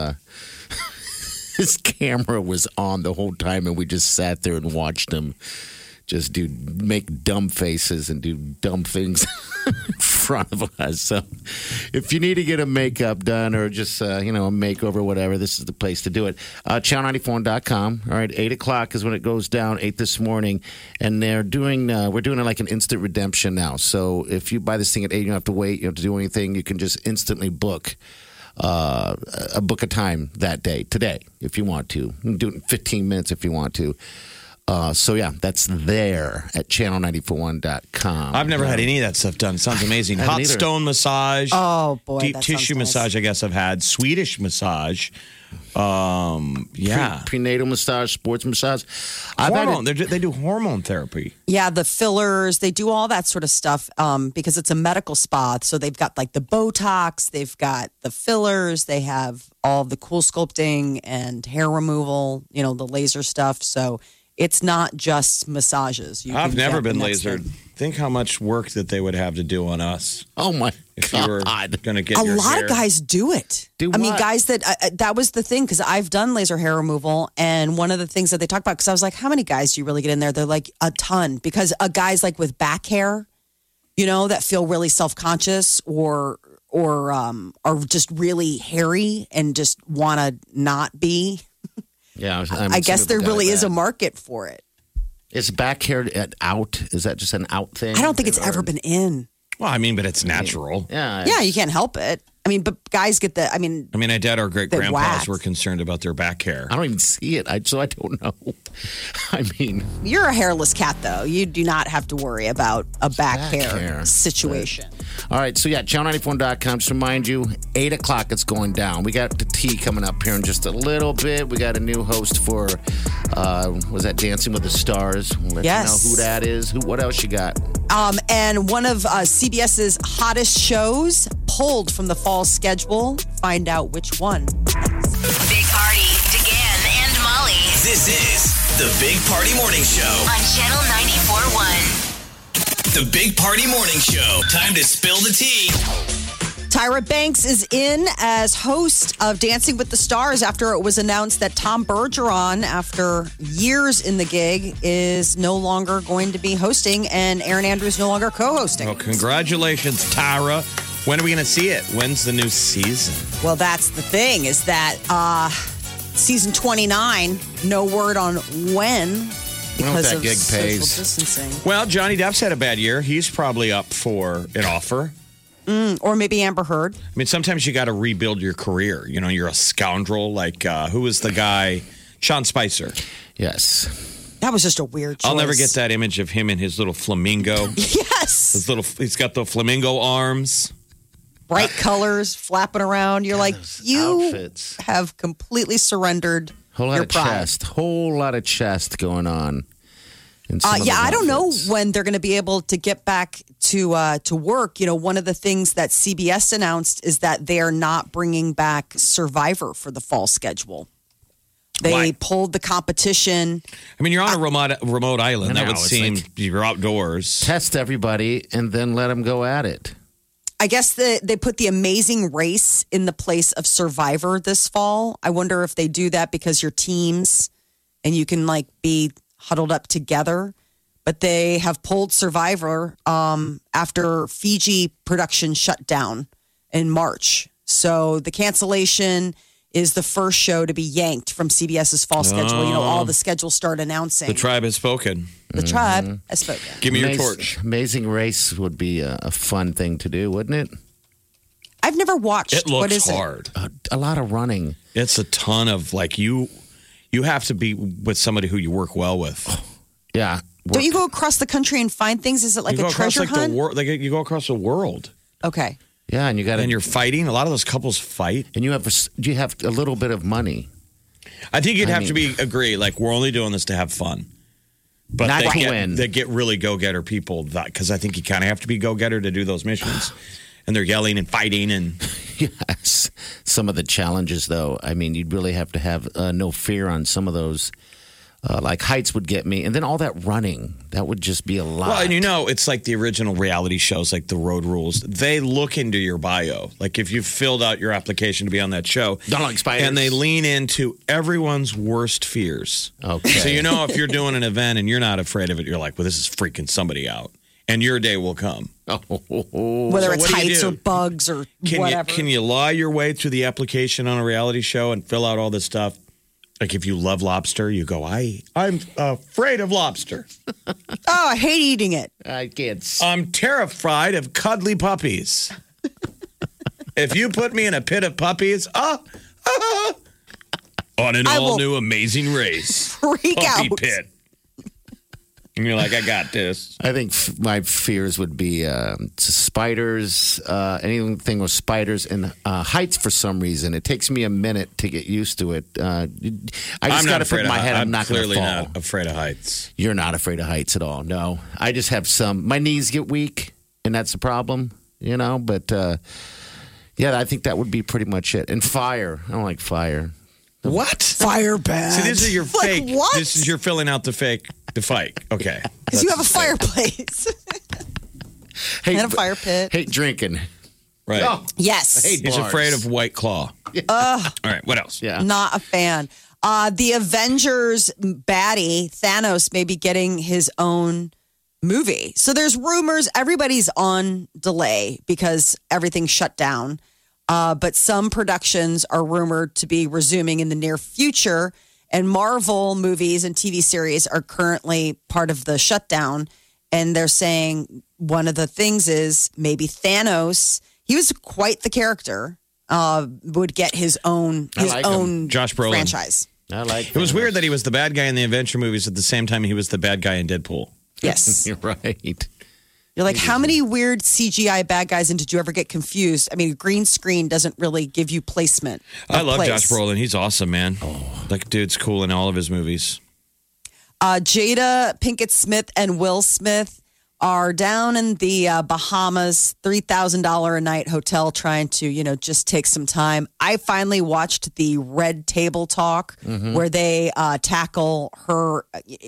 camera was on the whole time, and we just sat there and watched him just make dumb faces and do dumb things in front of us. So if you need to get a makeup done or just, a makeover, whatever, this is the place to do it. Channel94.com. All right, 8 o'clock is when it goes down, 8 this morning. And we're doing it like an instant redemption now. So if you buy this thing at 8, you don't have to wait. You don't have to do anything. You can just instantly book a time that day, today, if you want to. You can do it in 15 minutes if you want to. That's there at channel941.com. I've never had any of that stuff done. Sounds amazing. Hot stone massage. Oh, boy. Deep that tissue sounds nice. massage, I guess I've had. Swedish massage. Prenatal massage, sports massage. They do hormone therapy. Yeah, the fillers, they do all that sort of stuff because it's a medical spa. So they've got like the Botox, they've got the fillers, they have all the cool sculpting and hair removal, the laser stuff. So it's not just massages. I've never been lasered. Think how much work that they would have to do on us. Oh, my if God. you were going to get a your lot hair. of guys do it. Do I mean, what? guys that was the thing because I've done laser hair removal, and one of the things that they talk about because I was like, how many guys do you really get in there? They're like a ton because guys like with back hair, that feel really self-conscious or are just really hairy and just want to not be. Yeah, I guess there really is a market for it. Is back hair out? Is that just an out thing? I don't think it's ever been in. Well, I mean, but it's natural. Yeah. Yeah, you can't help it. but guys get the. I I doubt our great grandpas wax. were concerned about their back hair. I don't even see it, so I don't know. I mean, you're a hairless cat, though. You do not have to worry about a back hair hair. situation. All right, so yeah, channel94.com. Just remind you, 8 o'clock it's going down. We got the tea coming up here in just a little bit. We got a new host for, was that Dancing with the Stars? We'll let you know who that is. What else you got? And one of CBS's hottest shows pulled from the fall schedule. Find out which one. Big Party, DeGan and Molly This is the Big Party Morning Show. on Channel 94.1. The Big Party Morning Show. Time to spill the tea. Tyra Banks is in as host of Dancing with the Stars after it was announced that Tom Bergeron, after years in the gig, is no longer going to be hosting and Erin Andrews no longer co-hosting. Well, congratulations, Tyra. When are we going to see it? When's the new season? Well, that's the thing is that season 29, no word on when because that of gig social pays. distancing. Well, Johnny Depp's had a bad year. He's probably up for an offer. Or maybe Amber Heard. I mean, sometimes you got to rebuild your career. You know, you're a scoundrel. Like, who was the guy? Sean Spicer. Yes. That was just a weird choice. I'll never get that image of him in his little flamingo. Yes. He's got the flamingo arms. Bright colors flapping around. You're like, you outfits. have completely surrendered Whole lot your of pride. chest. Whole lot of chest going on. in some of Yeah, those I don't know outfits. when they're going to be able to get back to work. You know, one of the things that CBS announced is that they are not bringing back Survivor for the fall schedule. They Why? pulled the competition. I mean, you're on a remote island. I That know, would it's seem like- you're outdoors. Test everybody and then let them go at it. I guess they put the Amazing Race in the place of Survivor this fall. I wonder if they do that because you're teams and you can like be huddled up together. But they have pulled Survivor after Fiji production shut down in March. So the cancellation is the first show to be yanked from CBS's fall schedule. You know, all the schedules start announcing. The tribe has spoken. The tribe has spoken. Give me your torch. Amazing Race would be a fun thing to do, wouldn't it? I've never watched. It what looks is hard. A lot of running. It's a ton of like you have to be with somebody who you work well with. Yeah. Don't you go across the country and find things? Is it like you a go across treasure like hunt? the world. Like you go across the world, Okay. Yeah, and you got and you're fighting. A lot of those couples fight. and you have a little bit of money. I think you'd I have to agree. Like we're only doing this to have fun, but Not they to get, win. They get really go getter people because I think you kind of have to be go getter to do those missions, and they're yelling and fighting and. Yes. Some of the challenges, though, I mean, you'd really have to have no fear on some of those. Like heights would get me, and then all that running, that would just be a lot. Well, and you know, it's like the original reality shows, like the Road Rules. They look into your bio. Like if you filled out your application to be on that show. Don't like spiders. And they lean into everyone's worst fears. Okay. So you know if you're doing an event and you're not afraid of it, you're like, well, this is freaking somebody out. And your day will come. Whether So it's what do you heights do? or bugs or whatever. Can you lie your way through the application on a reality show and fill out all this stuff? Like if you love lobster, you go, I'm afraid of lobster. Oh, I hate eating it. I can't. I'm terrified of cuddly puppies. If you put me in a pit of puppies, on an I will all-new Amazing Race. freak Puppy out. pit. And you're like, I got this. I think my fears would be spiders, anything with spiders, and heights for some reason. It takes me a minute to get used to it. I just got to put in my head I'm not going to clearly fall. not afraid of heights. You're not afraid of heights at all. No. I just have my knees get weak, and that's the problem, you know? But, yeah, I think that would be pretty much it. And fire. I don't like fire. What? Fire bad. See, this is your Like, fake. what? This is your filling out the fake, the fight. Okay. Because you have a That's the fake. fireplace Hey, and a fire pit. hate drinking. Right. Oh, Yes. I hate He's bars. afraid of White Claw. All right, what else? Yeah. Not a fan. The Avengers baddie, Thanos, may be getting his own movie. So there's rumors everybody's on delay because everything's shut down. But some productions are rumored to be resuming in the near future. And Marvel movies and TV series are currently part of the shutdown. And they're saying one of the things is maybe Thanos, he was quite the character. Would get his own Josh Brolin franchise. I like it. Was weird that he was the bad guy in the adventure movies at the same time he was the bad guy in Deadpool. Yes. You're right. You're like, how many weird CGI bad guys, and did you ever get confused? I mean, green screen doesn't really give you placement. I love Josh Brolin. He's awesome, man. Like, dude's cool in all of his movies. Jada Pinkett Smith and Will Smith are down in the Bahamas, $3,000 a night hotel, trying to, just take some time. I finally watched the Red Table Talk where they tackle her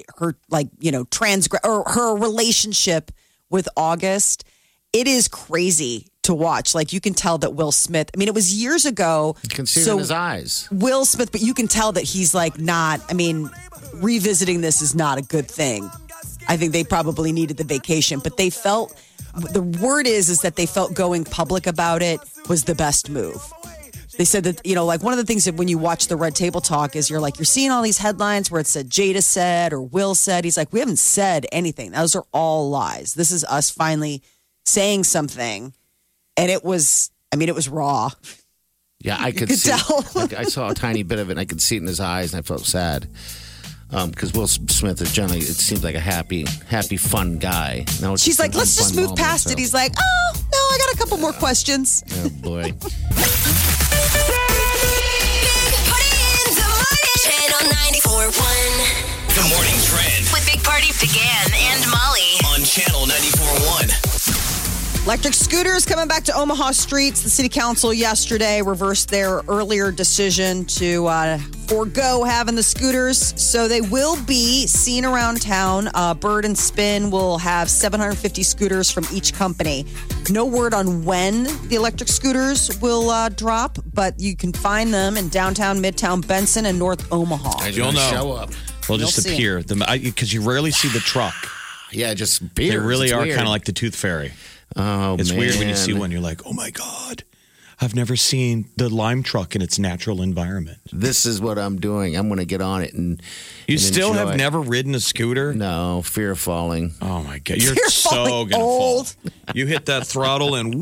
her relationship with August. It is crazy to watch. Like, you can tell that Will Smith, I mean, it was years ago. You can see it in his eyes. Will Smith, but you can tell that he's like revisiting this is not a good thing. I think they probably needed the vacation, but they felt, the word is that they felt going public about it was the best move. They said that, one of the things that when you watch the Red Table Talk is you're seeing all these headlines where it said Jada said or Will said. He's like, we haven't said anything. Those are all lies. This is us finally saying something. And it was raw. Yeah, I could see tell. I saw a tiny bit of it and I could see it in his eyes and I felt sad. Because Will Smith is generally, it seems like a happy, fun guy. Now she's like, let's just move past it. He's like, oh, no, I got a couple more questions. Oh, boy. Channel 94.1. The morning trend With Big Party began and Molly. on Channel 94.1. Electric scooters coming back to Omaha streets. The city council yesterday reversed their earlier decision to forego having the scooters. So they will be seen around town. Bird and Spin will have 750 scooters from each company. No word on when the electric scooters will drop, but you can find them in downtown, Midtown, Benson, and North Omaha. You'll know. Show up. They'll just You'll see appear. Because you rarely see the truck. Yeah, just beers. They really It's are weird. kind of like the Tooth Fairy. Oh, It's man. weird when you see one. You're like, oh my God, I've never seen the lime truck in its natural environment. This is what I'm doing. I'm going to get on it and You and still enjoy have it. never ridden a scooter? No, fear of falling. Oh my God. You're You're so falling going to old. fall. You hit that throttle and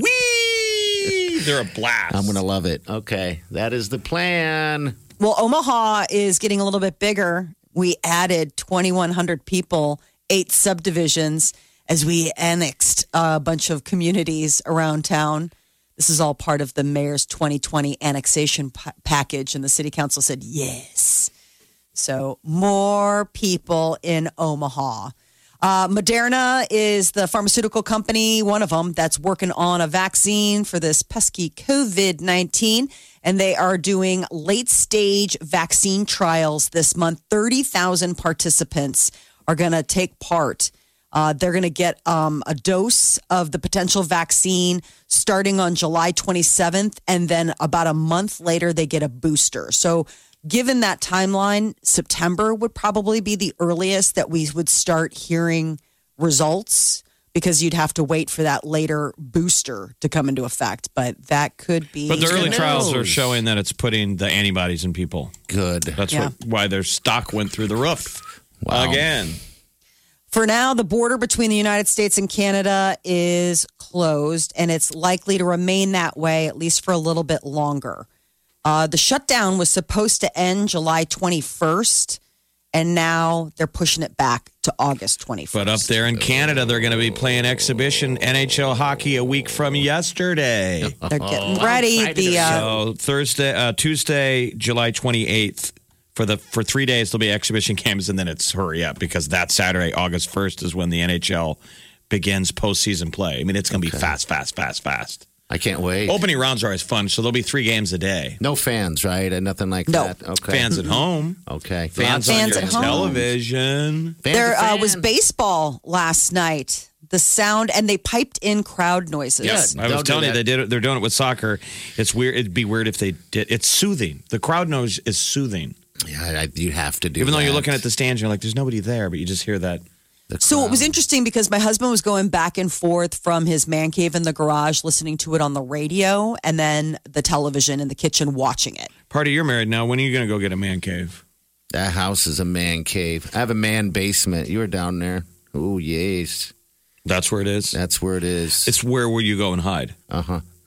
whee! They're a blast. I'm going to love it. Okay, that is the plan. Well, Omaha is getting a little bit bigger. We added 2,100 people, 8 subdivisions, as we annexed a bunch of communities around town. This is all part of the mayor's 2020 annexation package, and the city council said yes. So more people in Omaha. Moderna is the pharmaceutical company, one of them, that's working on a vaccine for this pesky COVID-19. And they are doing late-stage vaccine trials this month. 30,000 participants are going to take part. They're going to get a dose of the potential vaccine starting on July 27th. And then about a month later, they get a booster. So given that timeline, September would probably be the earliest that we would start hearing results, because you'd have to wait for that later booster to come into effect. But that could be. But the early Who trials are knows? showing that it's putting the antibodies in people. Good. That's Yeah. why their stock went through the roof. Wow. Again. For now, the border between the United States and Canada is closed, and it's likely to remain that way at least for a little bit longer. The shutdown was supposed to end July 21st, and now they're pushing it back to August 21st. But up there in Canada, they're going to be playing exhibition NHL hockey a week from yesterday. They're getting ready. So Tuesday, July 28th, for 3 days, there'll be exhibition games, and then it's hurry up, because that Saturday, August 1st, is when the NHL begins postseason play. I mean, it's going to be fast. I can't wait. Opening rounds are always fun, so there'll be 3 games a day. No fans, right? And nothing like No. that. Okay. Fans at home. Okay. Fans on Fans your at home. television. Fans There are was fans. baseball last night. The sound, and they piped in crowd noises. Yes, I was They'll do telling you, that. they're doing it with soccer. It's weird. It'd be weird if they did. It's soothing. The crowd noise is soothing. Yeah, you have to do Even though you're that. looking at the stands, you're like, there's nobody there, but you just hear that. So it was interesting because my husband was going back and forth from his man cave in the garage, listening to it on the radio, and then the television in the kitchen watching it. Party, you're married now. When are you going to go get a man cave? That house is a man cave. I have a man basement. You were down there. Oh, yes. That's where it is. That's where it is. It's where you go and hide. Uh-huh.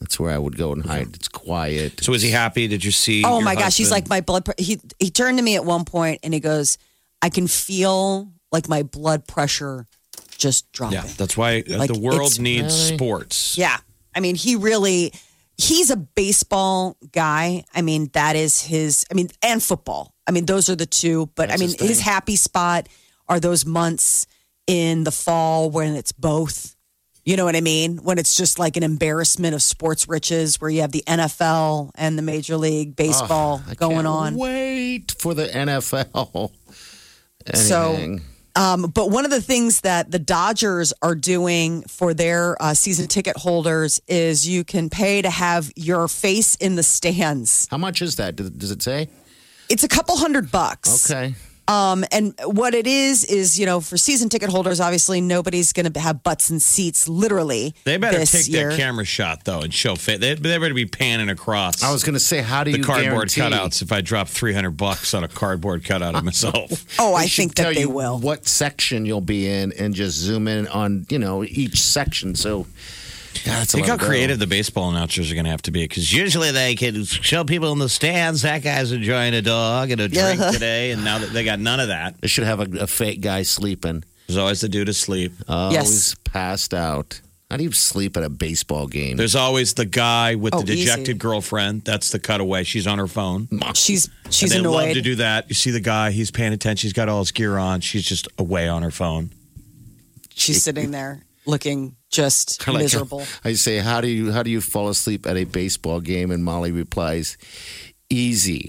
That's where I would go and hide. It's quiet. So was he happy? Did you see? Oh your my gosh, he's husband? like my blood. He turned to me at one point and he goes, "I can feel like my blood pressure just dropping." Yeah, that's why Like, the world it's- needs sports. Yeah, I mean, he's a baseball guy. I mean, that is his. I mean, and football. I mean, those are the two. But That's I mean, his thing. his happy spot are those months in the fall when it's both. You know what I mean? When it's just like an embarrassment of sports riches, where you have the NFL and the Major League Baseball I going can't on. Wait for the NFL. So, Anything. but one of the things that the Dodgers are doing for their season ticket holders is you can pay to have your face in the stands. How much is that? Does it say? It's a couple $100. Okay. And what it is, for season ticket holders, obviously nobody's going to have butts and seats literally. They better this take year. that camera shot though and show fit. They better be panning across. I was going to say, how do the you cardboard guarantee? cutouts. If I drop $300 on a cardboard cutout of myself, Oh, I They should think that tell they you will. what section you'll be in and just zoom in on, each section. So, that's a think lot how to go. creative the baseball announcers are going to have to be. Because usually they can show people in the stands that guy's enjoying a dog and a drink today, and now that they got none of that. They should have a fake guy sleeping. There's always the dude asleep. Always passed out. How do you sleep at a baseball game? There's always the guy with Oh, the dejected easy. girlfriend. That's the cutaway. She's on her phone. She's And they love annoyed. to do that. You see the guy, he's paying attention. He's got all his gear on. She's just away on her phone. She's sitting there looking just Like, miserable. I say, how do you fall asleep at a baseball game? And Molly replies, easy.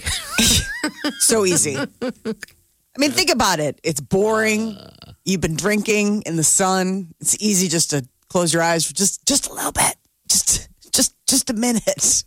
So easy. I mean, think about it. It's boring. You've been drinking in the sun. It's easy just to close your eyes for just a little bit. Just a minute.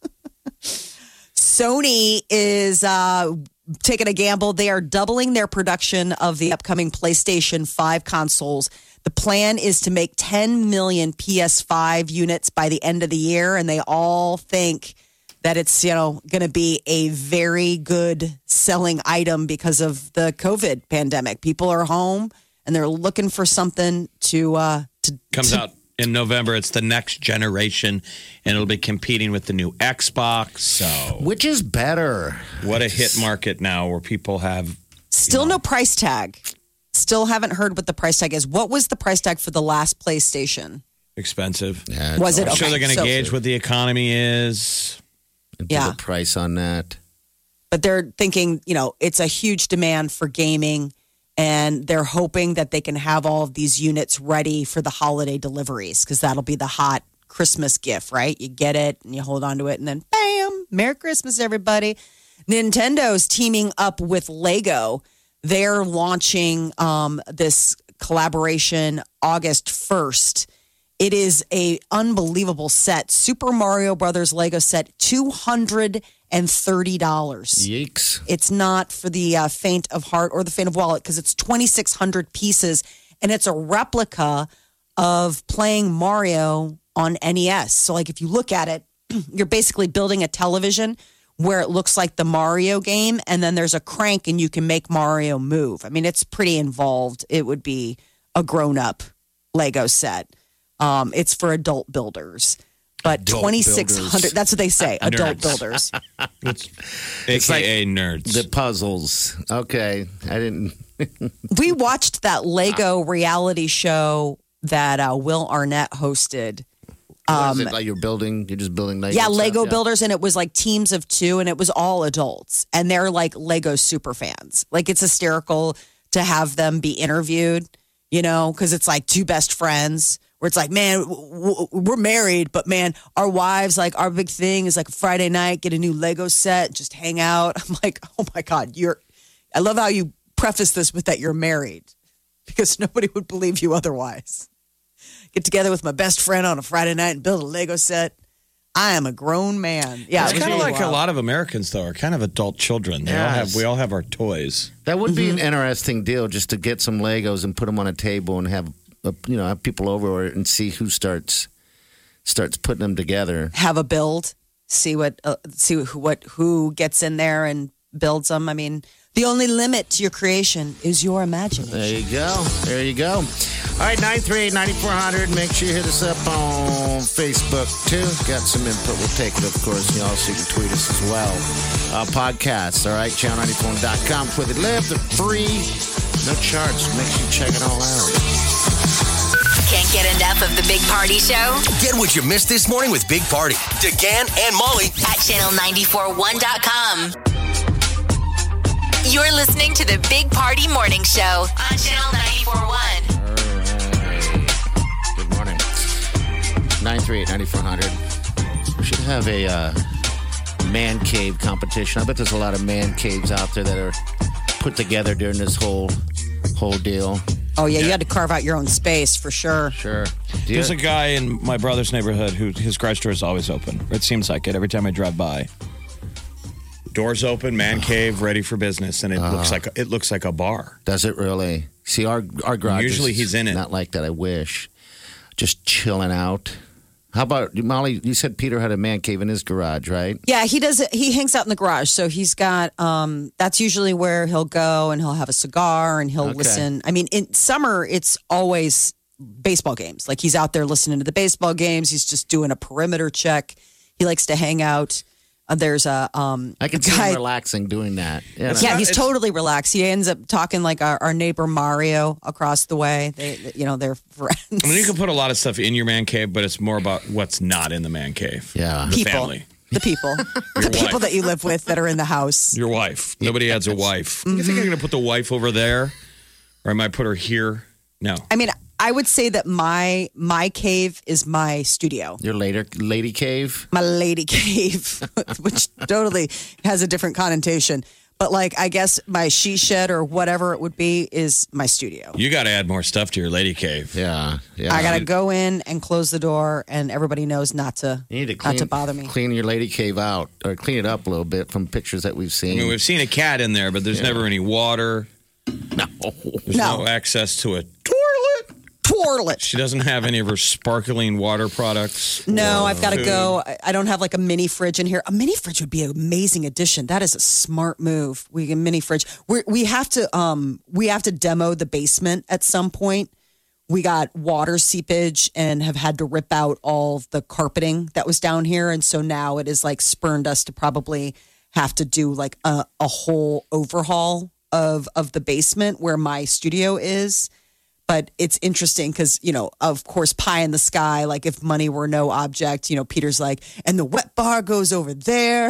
Sony is taking a gamble. They are doubling their production of the upcoming PlayStation 5 consoles. The plan is to make 10 million PS5 units by the end of the year, and they all think that it's going to be a very good selling item because of the COVID pandemic. People are home and they're looking for something to Comes out in November. It's the next generation, and it'll be competing with the new Xbox. So, Which is better? what a hit market now where people have. Still no price tag. Still haven't heard what the price tag is. What was the price tag for the last PlayStation? Expensive. Yeah, Was it? I'm sure Okay, they're going to so- gauge what the economy is. Yeah. The price on that. But they're thinking, it's a huge demand for gaming, and they're hoping that they can have all of these units ready for the holiday deliveries because that'll be the hot Christmas gift, right? You get it and you hold on to it, and then bam, Merry Christmas, everybody. Nintendo's teaming up with Lego. They're launching this collaboration August 1st. It is a unbelievable set. Super Mario Brothers Lego set, $230. Yeeks. It's not for the faint of heart or the faint of wallet because it's 2,600 pieces, and it's a replica of playing Mario on NES. So, like, if you look at it, you're basically building a television where it looks like the Mario game, and then there's a crank and you can make Mario move. I mean, it's pretty involved. It would be a grown-up Lego set. It's for adult builders. But Adult 2,600, builders. that's what they say, adult Nerds. builders. It's like AKA nerds. The puzzles. Okay. I didn't. We watched that Lego reality show that Will Arnett hosted. What is it like you're just building Lego? Yeah, stuff? Lego builders, and it was like teams of two, and it was all adults, and they're like Lego super fans. Like, it's hysterical to have them be interviewed, because it's like two best friends. Where it's like, man, we're married, but man, our wives, like, our big thing is like a Friday night, get a new Lego set, just hang out. I'm like, oh my God, I love how you preface this with that you're married, because nobody would believe you otherwise. Get together with my best friend on a Friday night and build a Lego set. I am a grown man. Yeah, It's it was kind of really like a wild. lot of Americans, though, are kind of adult children. We all have our toys. That would be an Mm-hmm. interesting deal, just to get some Legos and put them on a table and have people over and see who starts putting them together. Have a build, see who gets in there and builds them. I mean, the only limit to your creation is your imagination. There you go. All right, 938-9400. Make sure you hit us up on on Facebook, too. Got some input. We'll take it, of course. And you also can tweet us as well. Podcasts, all right? Channel94.com. Where they live. They're free. No charge. Make sure you check it all out. Can't get enough of the Big Party Show? Get what you missed this morning with Big Party, DeGan and Molly At channel941.com. You're listening to the Big Party Morning Show on Channel 941. Good morning. 938-9400. We should have a man cave competition. I bet there's a lot of man caves out there that are put together during this whole deal. Oh, yeah, you had to carve out your own space for sure. Sure. There's a guy in my brother's neighborhood who his garage door is always open. It seems like it every time I drive by. Doors open, man cave, ready for business, and it looks like a bar. Does it really? See, our garage Usually is he's in it. Not like that, I wish. Just chilling out. How about, Molly, you said Peter had a man cave in his garage, right? Yeah, he does it. He hangs out in the garage. So he's got, that's usually where he'll go and he'll have a cigar and he'll listen. I mean, in summer, it's always baseball games. Like he's out there listening to the baseball games. He's just doing a perimeter check. He likes to hang out. There's a I can see him relaxing doing that. Yeah, he's totally relaxed. He ends up talking like our neighbor Mario across the way. They're friends. I mean, you can put a lot of stuff in your man cave, but it's more about what's not in the man cave. Yeah, the people, family, the people, the people that you live with that are in the house. Your wife. Nobody adds a wife. You think I'm going to put the wife over there, or I might put her here? No. I mean, I would say that my cave is my studio. Your lady cave? My lady cave, which totally has a different connotation. But like, I guess my she shed or whatever it would be is my studio. You got to add more stuff to your lady cave. Yeah. I got to go in and close the door, and everybody knows not to bother me. Clean your lady cave out, or clean it up a little bit from pictures that we've seen. I mean, we've seen a cat in there, but there's never any water. No. There's no access to a toilet. She doesn't have any of her sparkling water products. No, I've got to go. I don't have like a mini fridge in here. A mini fridge would be an amazing addition. That is a smart move. We get a mini fridge. We have to demo the basement at some point. We got water seepage and have had to rip out all the carpeting that was down here, and so now it is like spurned us to probably have to do like a whole overhaul of the basement where my studio is. But it's interesting because, of course, pie in the sky, like if money were no object, Peter's like, and the wet bar goes over there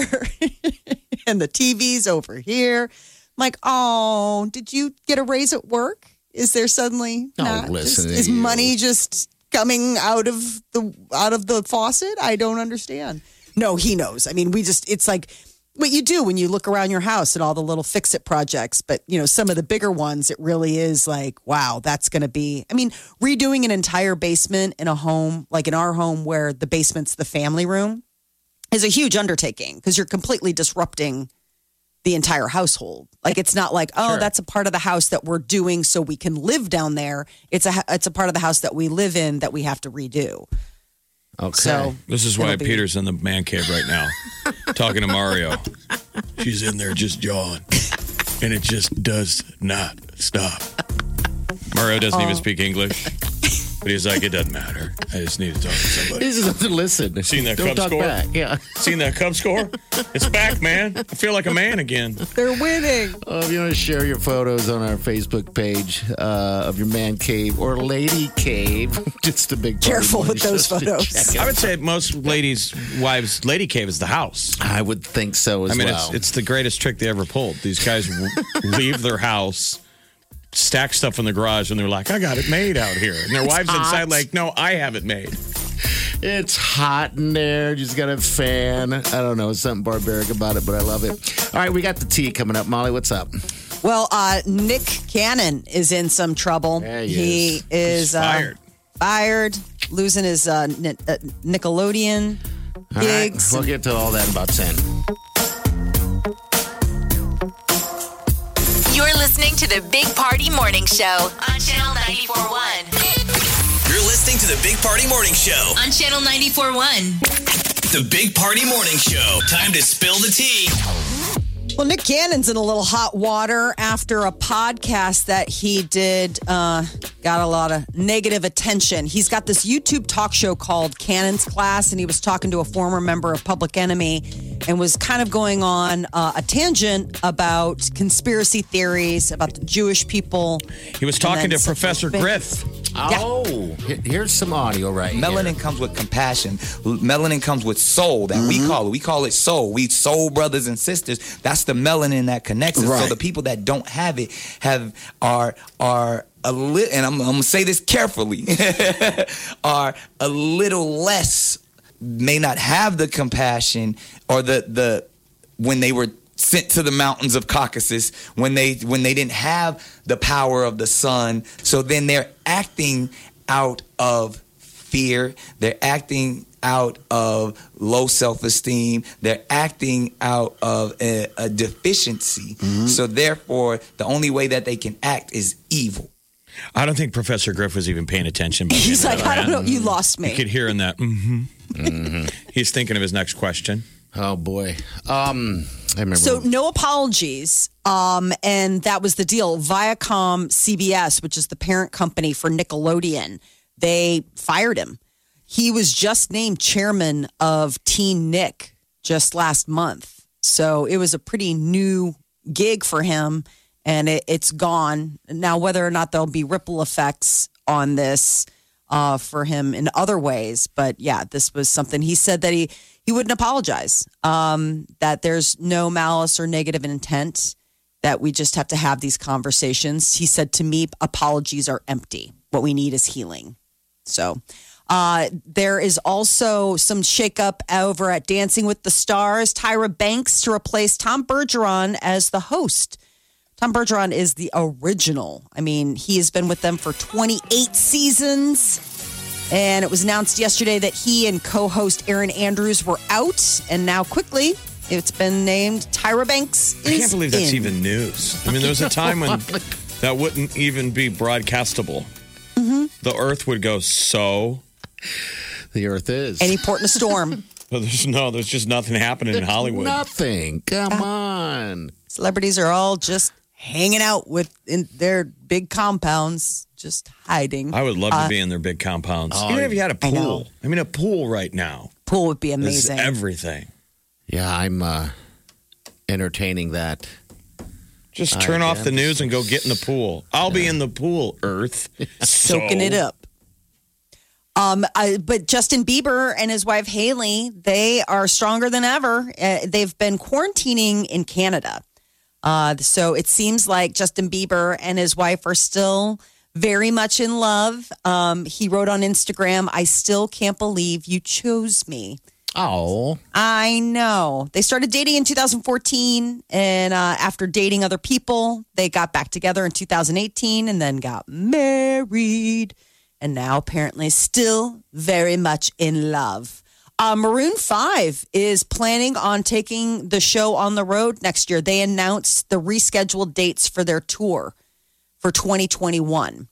and the TV's over here. I'm like, oh, did you get a raise at work? Is there suddenly is money just coming out of the faucet? I don't understand. No, he knows. I mean, it's like what you do when you look around your house and all the little fix-it projects. But, some of the bigger ones, it really is like, wow, that's going to be, redoing an entire basement in a home, like in our home where the basement's the family room, is a huge undertaking because you're completely disrupting the entire household. Like, it's not like, that's a part of the house that we're doing so we can live down there. It's a part of the house that we live in that we have to redo. Okay. So this is why Peter's in the man cave right now, talking to Mario. She's in there just jawing, and it just does not stop. Mario doesn't even speak English, but he's like, it doesn't matter. I just need to talk to somebody. He doesn't listen. Seen that Cubs score? Back. Yeah. Seen that Cubs score? It's back, man. I feel like a man again. They're winning. If you want to share your photos on our Facebook page of your man cave or lady cave, just a big careful with those photos. I would say most ladies' wives' lady cave is the house. I would think so as well. It's the greatest trick they ever pulled. These guys leave their house, stack stuff in the garage, and they're like, I got it made out here. And their wives inside like, no, I have it made. It's hot in there. Just got a fan. I don't know. Something barbaric about it, but I love it. All right, we got the tea coming up. Molly, what's up? Well, Nick Cannon is in some trouble. Yeah, he is fired, losing his Nickelodeon gigs. Right, we'll get to all that in about 10. You're listening to the Big Party Morning Show on Channel 94.1. You're listening to the Big Party Morning Show On Channel 94.1. The Big Party Morning Show. Time to spill the tea. Well, Nick Cannon's in a little hot water after a podcast that he did got a lot of negative attention. He's got this YouTube talk show called Cannon's Class, and he was talking to a former member of Public Enemy and was kind of going on a tangent about conspiracy theories, about the Jewish people. He was talking to Professor Griff. Oh, here's some audio right Melanin here. comes with compassion. Melanin comes with soul that we call it. We call it soul. We soul brothers and sisters. That's the melanin that connects us. Right. So the people that don't have it are a little, and I'm gonna say this carefully, are a little less, may not have the compassion or the when they were sent to the mountains of Caucasus, when they didn't have the power of the sun. So then they're acting out of fear. They're acting out of low self-esteem. They're acting out of a deficiency. So therefore, the only way that they can act is evil. I don't think Professor Griff was even paying attention. He's like, I don't know, you lost me. You could hear in that. He's thinking of his next question. Oh boy. I remember. So no apologies. And that was the deal. Viacom CBS, which is the parent company for Nickelodeon, they fired him. He was just named chairman of Teen Nick just last month. So it was a pretty new gig for him, and it's gone. Now, whether or not there'll be ripple effects on this for him in other ways. But yeah, this was something he said that he wouldn't apologize, that there's no malice or negative intent, that we just have to have these conversations. He said to me, apologies are empty. What we need is healing. So there is also some shakeup over at Dancing with the Stars. Tyra Banks to replace Tom Bergeron as the host. Tom Bergeron is the original. I mean, he has been with them for 28 seasons. And it was announced yesterday that he and co-host Erin Andrews were out. And now quickly, it's been named Tyra Banks is I can't believe that's in. even news. I mean, there was a time when that wouldn't even be broadcastable. The earth would go so. The earth is. Any port in a storm. But there's just nothing happening in Hollywood. Nothing. Come on. Celebrities are all just hanging out in their big compounds, just hiding. I would love to be in their big compounds. Even if you had a pool. I mean, a pool right now. Pool would be Is amazing. everything. Yeah, I'm entertaining that. Just turn off the news and go get in the pool. I'll be in the pool, Earth. Soaking it up. But Justin Bieber and his wife Haley, they are stronger than ever. They've been quarantining in Canada. So it seems like Justin Bieber and his wife are still very much in love. He wrote on Instagram, I still can't believe you chose me. Oh. I know. They started dating in 2014, and after dating other people, they got back together in 2018 and then got married. And now apparently still very much in love. Maroon 5 is planning on taking the show on the road next year. They announced the rescheduled dates for their tour for 2021.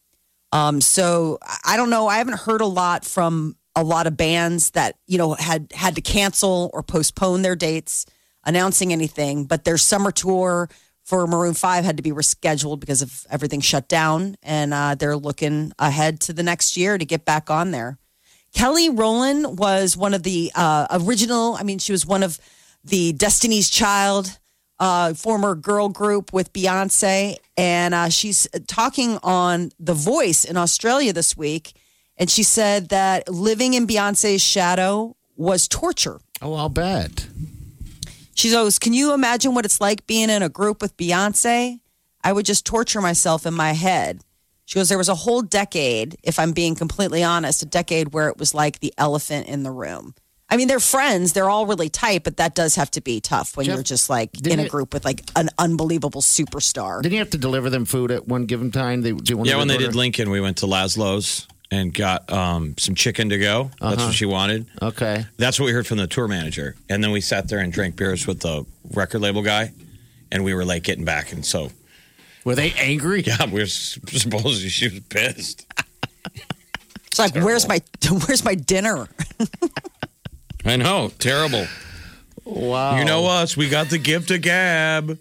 So I don't know. I haven't heard a lot from a lot of bands that, had to cancel or postpone their dates, announcing anything. But their summer tour for Maroon 5 had to be rescheduled because of everything shut down. And they're looking ahead to the next year to get back on there. Kelly Rowland was one of the original, she was one of the Destiny's Child former girl group with Beyonce. And she's talking on The Voice in Australia this week. And she said that living in Beyonce's shadow was torture. Oh, I'll bet. She goes, can you imagine what it's like being in a group with Beyonce? I would just torture myself in my head. She goes, there was a whole decade, if I'm being completely honest, a decade where it was like the elephant in the room. I mean, they're friends. They're all really tight, but that does have to be tough when you're just like in a group with like an unbelievable superstar. Didn't you have to deliver them food at one given time? When they did Lincoln, we went to Laszlo's and got some chicken to go. That's what she wanted. Okay. That's what we heard from the tour manager. And then we sat there and drank beers with the record label guy. And we were like getting back. And so. Were they angry? Yeah, we were supposedly she was pissed. It's like, where's my dinner? I know. Terrible. Wow. You know us. We got the gift of gab.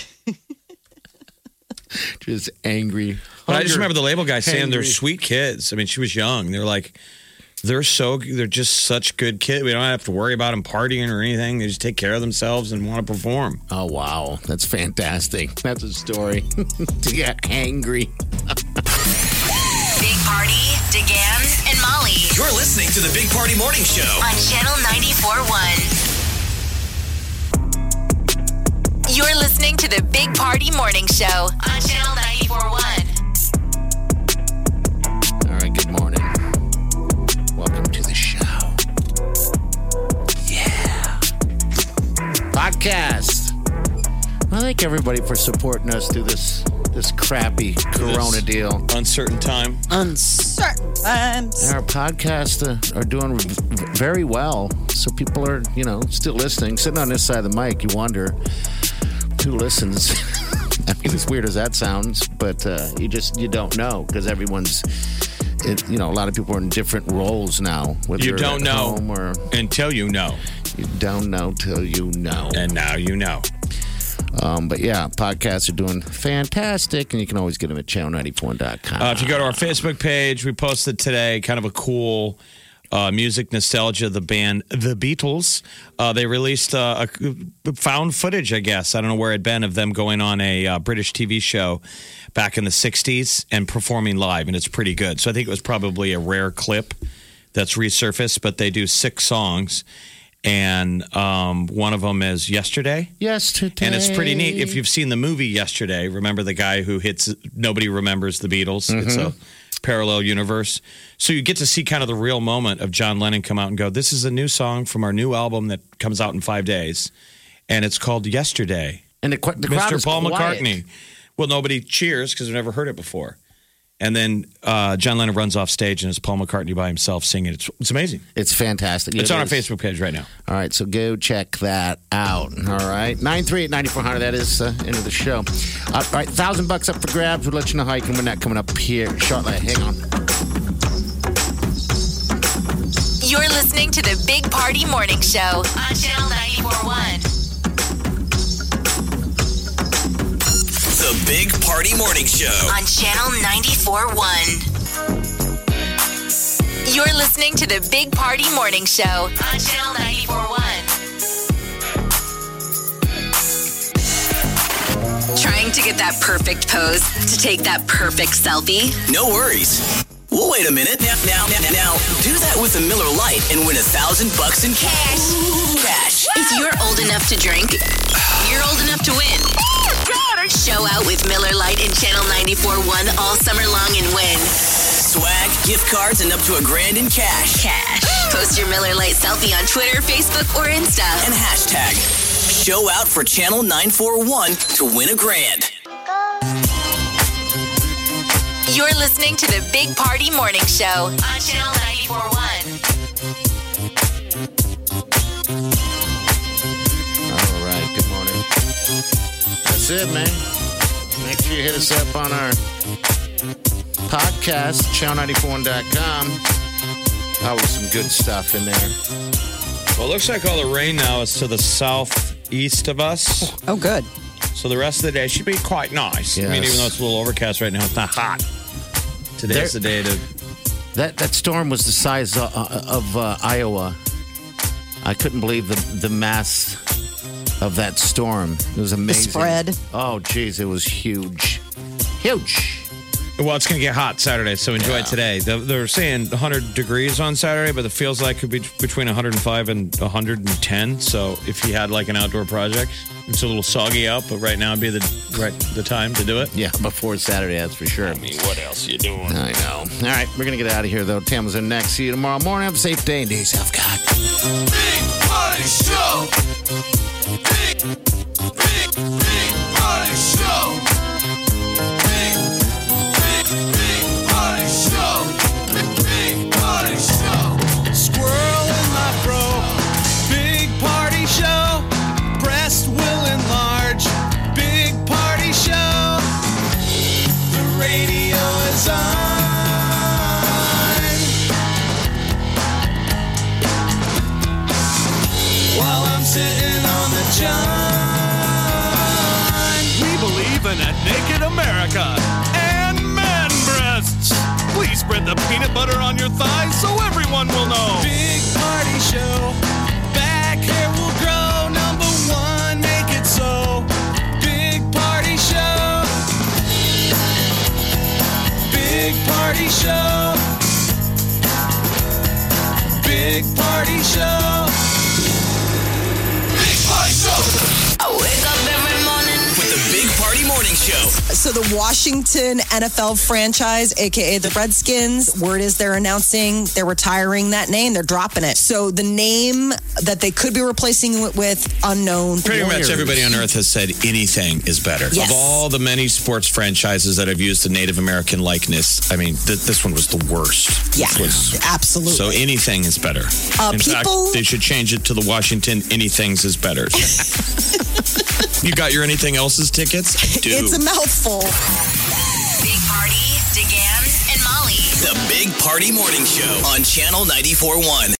Just angry. But I just remember the label guy saying they're Angry. sweet kids. I mean, she was young. They're like, they're just such good kids. We don't have to worry about them partying or anything. They just take care of themselves and want to perform. Oh, wow. That's fantastic. That's a story to get angry. Big Party, DeGan, and Molly You're listening to the Big Party Morning Show. on Channel 94.1. You're listening to the Big Party Morning Show on Channel 94.1. All right, good morning. Welcome to the show. Yeah. Podcast. I thank everybody for supporting us through this crappy Corona deal. Uncertain time. Uncertain times. Our podcasts are doing very well. So people are, still listening. Sitting on this side of the mic, you wonder who listens. I mean, as weird as that sounds, but you don't know because everyone's, a lot of people are in different roles now. Whether You don't at know home or until you know. you don't know till you know. And now you know. But yeah, podcasts are doing fantastic, and you can always get them at channel94.com. If you go to our Facebook page, we posted today kind of a cool music nostalgia, the band The Beatles. They released a found footage, I guess. I don't know where it'd been of them going on a British TV show back in the 60s and performing live, and it's pretty good. So I think it was probably a rare clip that's resurfaced, but they do 6 songs. And one of them is Yesterday. Yesterday. And it's pretty neat. If you've seen the movie Yesterday, remember the guy who hits Nobody Remembers the Beatles? Mm-hmm. It's a parallel universe. So you get to see kind of the real moment of John Lennon come out and go, this is a new song from our new album that comes out in 5 days. And it's called Yesterday. And the crowd Mr. is Paul quiet. McCartney. Well, nobody cheers because they've never heard it before. And then John Lennon runs off stage and it's Paul McCartney by himself singing. It's amazing. It's fantastic. It's on our Facebook page right now. All right, so go check that out. All right, 938-9400. That is into the show. All right, $1,000 up for grabs. We'll let you know how you can win that coming up here shortly. Hang on. You're listening to the Big Party Morning Show on Channel 94.1. The Big Party Morning Show. On Channel 94.1. You're listening to the Big Party Morning Show on Channel 94.1. Trying to get that perfect pose to take that perfect selfie? No worries. Well, wait a minute. Now, do that with a Miller Lite and win $1,000 in cash. Cash. If you're old enough to drink, you're old enough to win. Show out with Miller Lite and Channel 94.1 all summer long and win. Swag, gift cards, and up to $1,000 in cash. Post your Miller Lite selfie on Twitter, Facebook, or Insta. And hashtag show out for Channel 941 to win $1,000. You're listening to the Big Party Morning Show on Channel 94.1. All right, good morning. That's it, man. Make sure you hit us up on our podcast, channel94.com. Always some good stuff in there. Well, it looks like all the rain now is to the southeast of us. Oh, good. So the rest of the day should be quite nice. Yes. I mean, even though it's a little overcast right now, it's not hot. Today's the day to... That storm was the size of Iowa. I couldn't believe the mass of that storm. It was amazing. The spread. Oh, geez, it was huge. Huge. Well, it's going to get hot Saturday, so enjoy it today. They're saying 100 degrees on Saturday, but it feels like it could be between 105 and 110. So if you had like an outdoor project, it's a little soggy out, but right now would be the time to do it. Yeah, before Saturday, that's for sure. I mean, what else are you doing? I know. All right, we're going to get out of here, though. Tam's in next. See you tomorrow morning. Have a safe day and do yourself God. Big Party Show. Big Party Show. Big Party Show. Big Party Show. Squirrel in my fro. Big Party Show. Breast will enlarge. Big Party Show. The radio is on. I'm sitting on the john. We believe in a naked America and man breasts. Please spread the peanut butter on your thighs so everyone will know. Big party show. Back hair will grow. Number one, make it so. Big party show. Big party show. Big party show. Big party show. I wake up every morning With the Big Party Morning Show. So the Washington NFL franchise, aka the Redskins, word is they're announcing they're retiring that name. They're dropping it. So the name that they could be replacing it with, unknown. Pretty much Warriors. everybody on earth has said anything is better. Yes. Of all the many sports franchises that have used the Native American likeness, I mean, this one was the worst. Yeah, This was- absolutely. So anything is better. In fact, they should change it to the Washington Anythings is Better. You got your anything else's tickets? I do. It's a mouthful. Big Party, DeGan, and Molly. The Big Party Morning Show on Channel 94.1.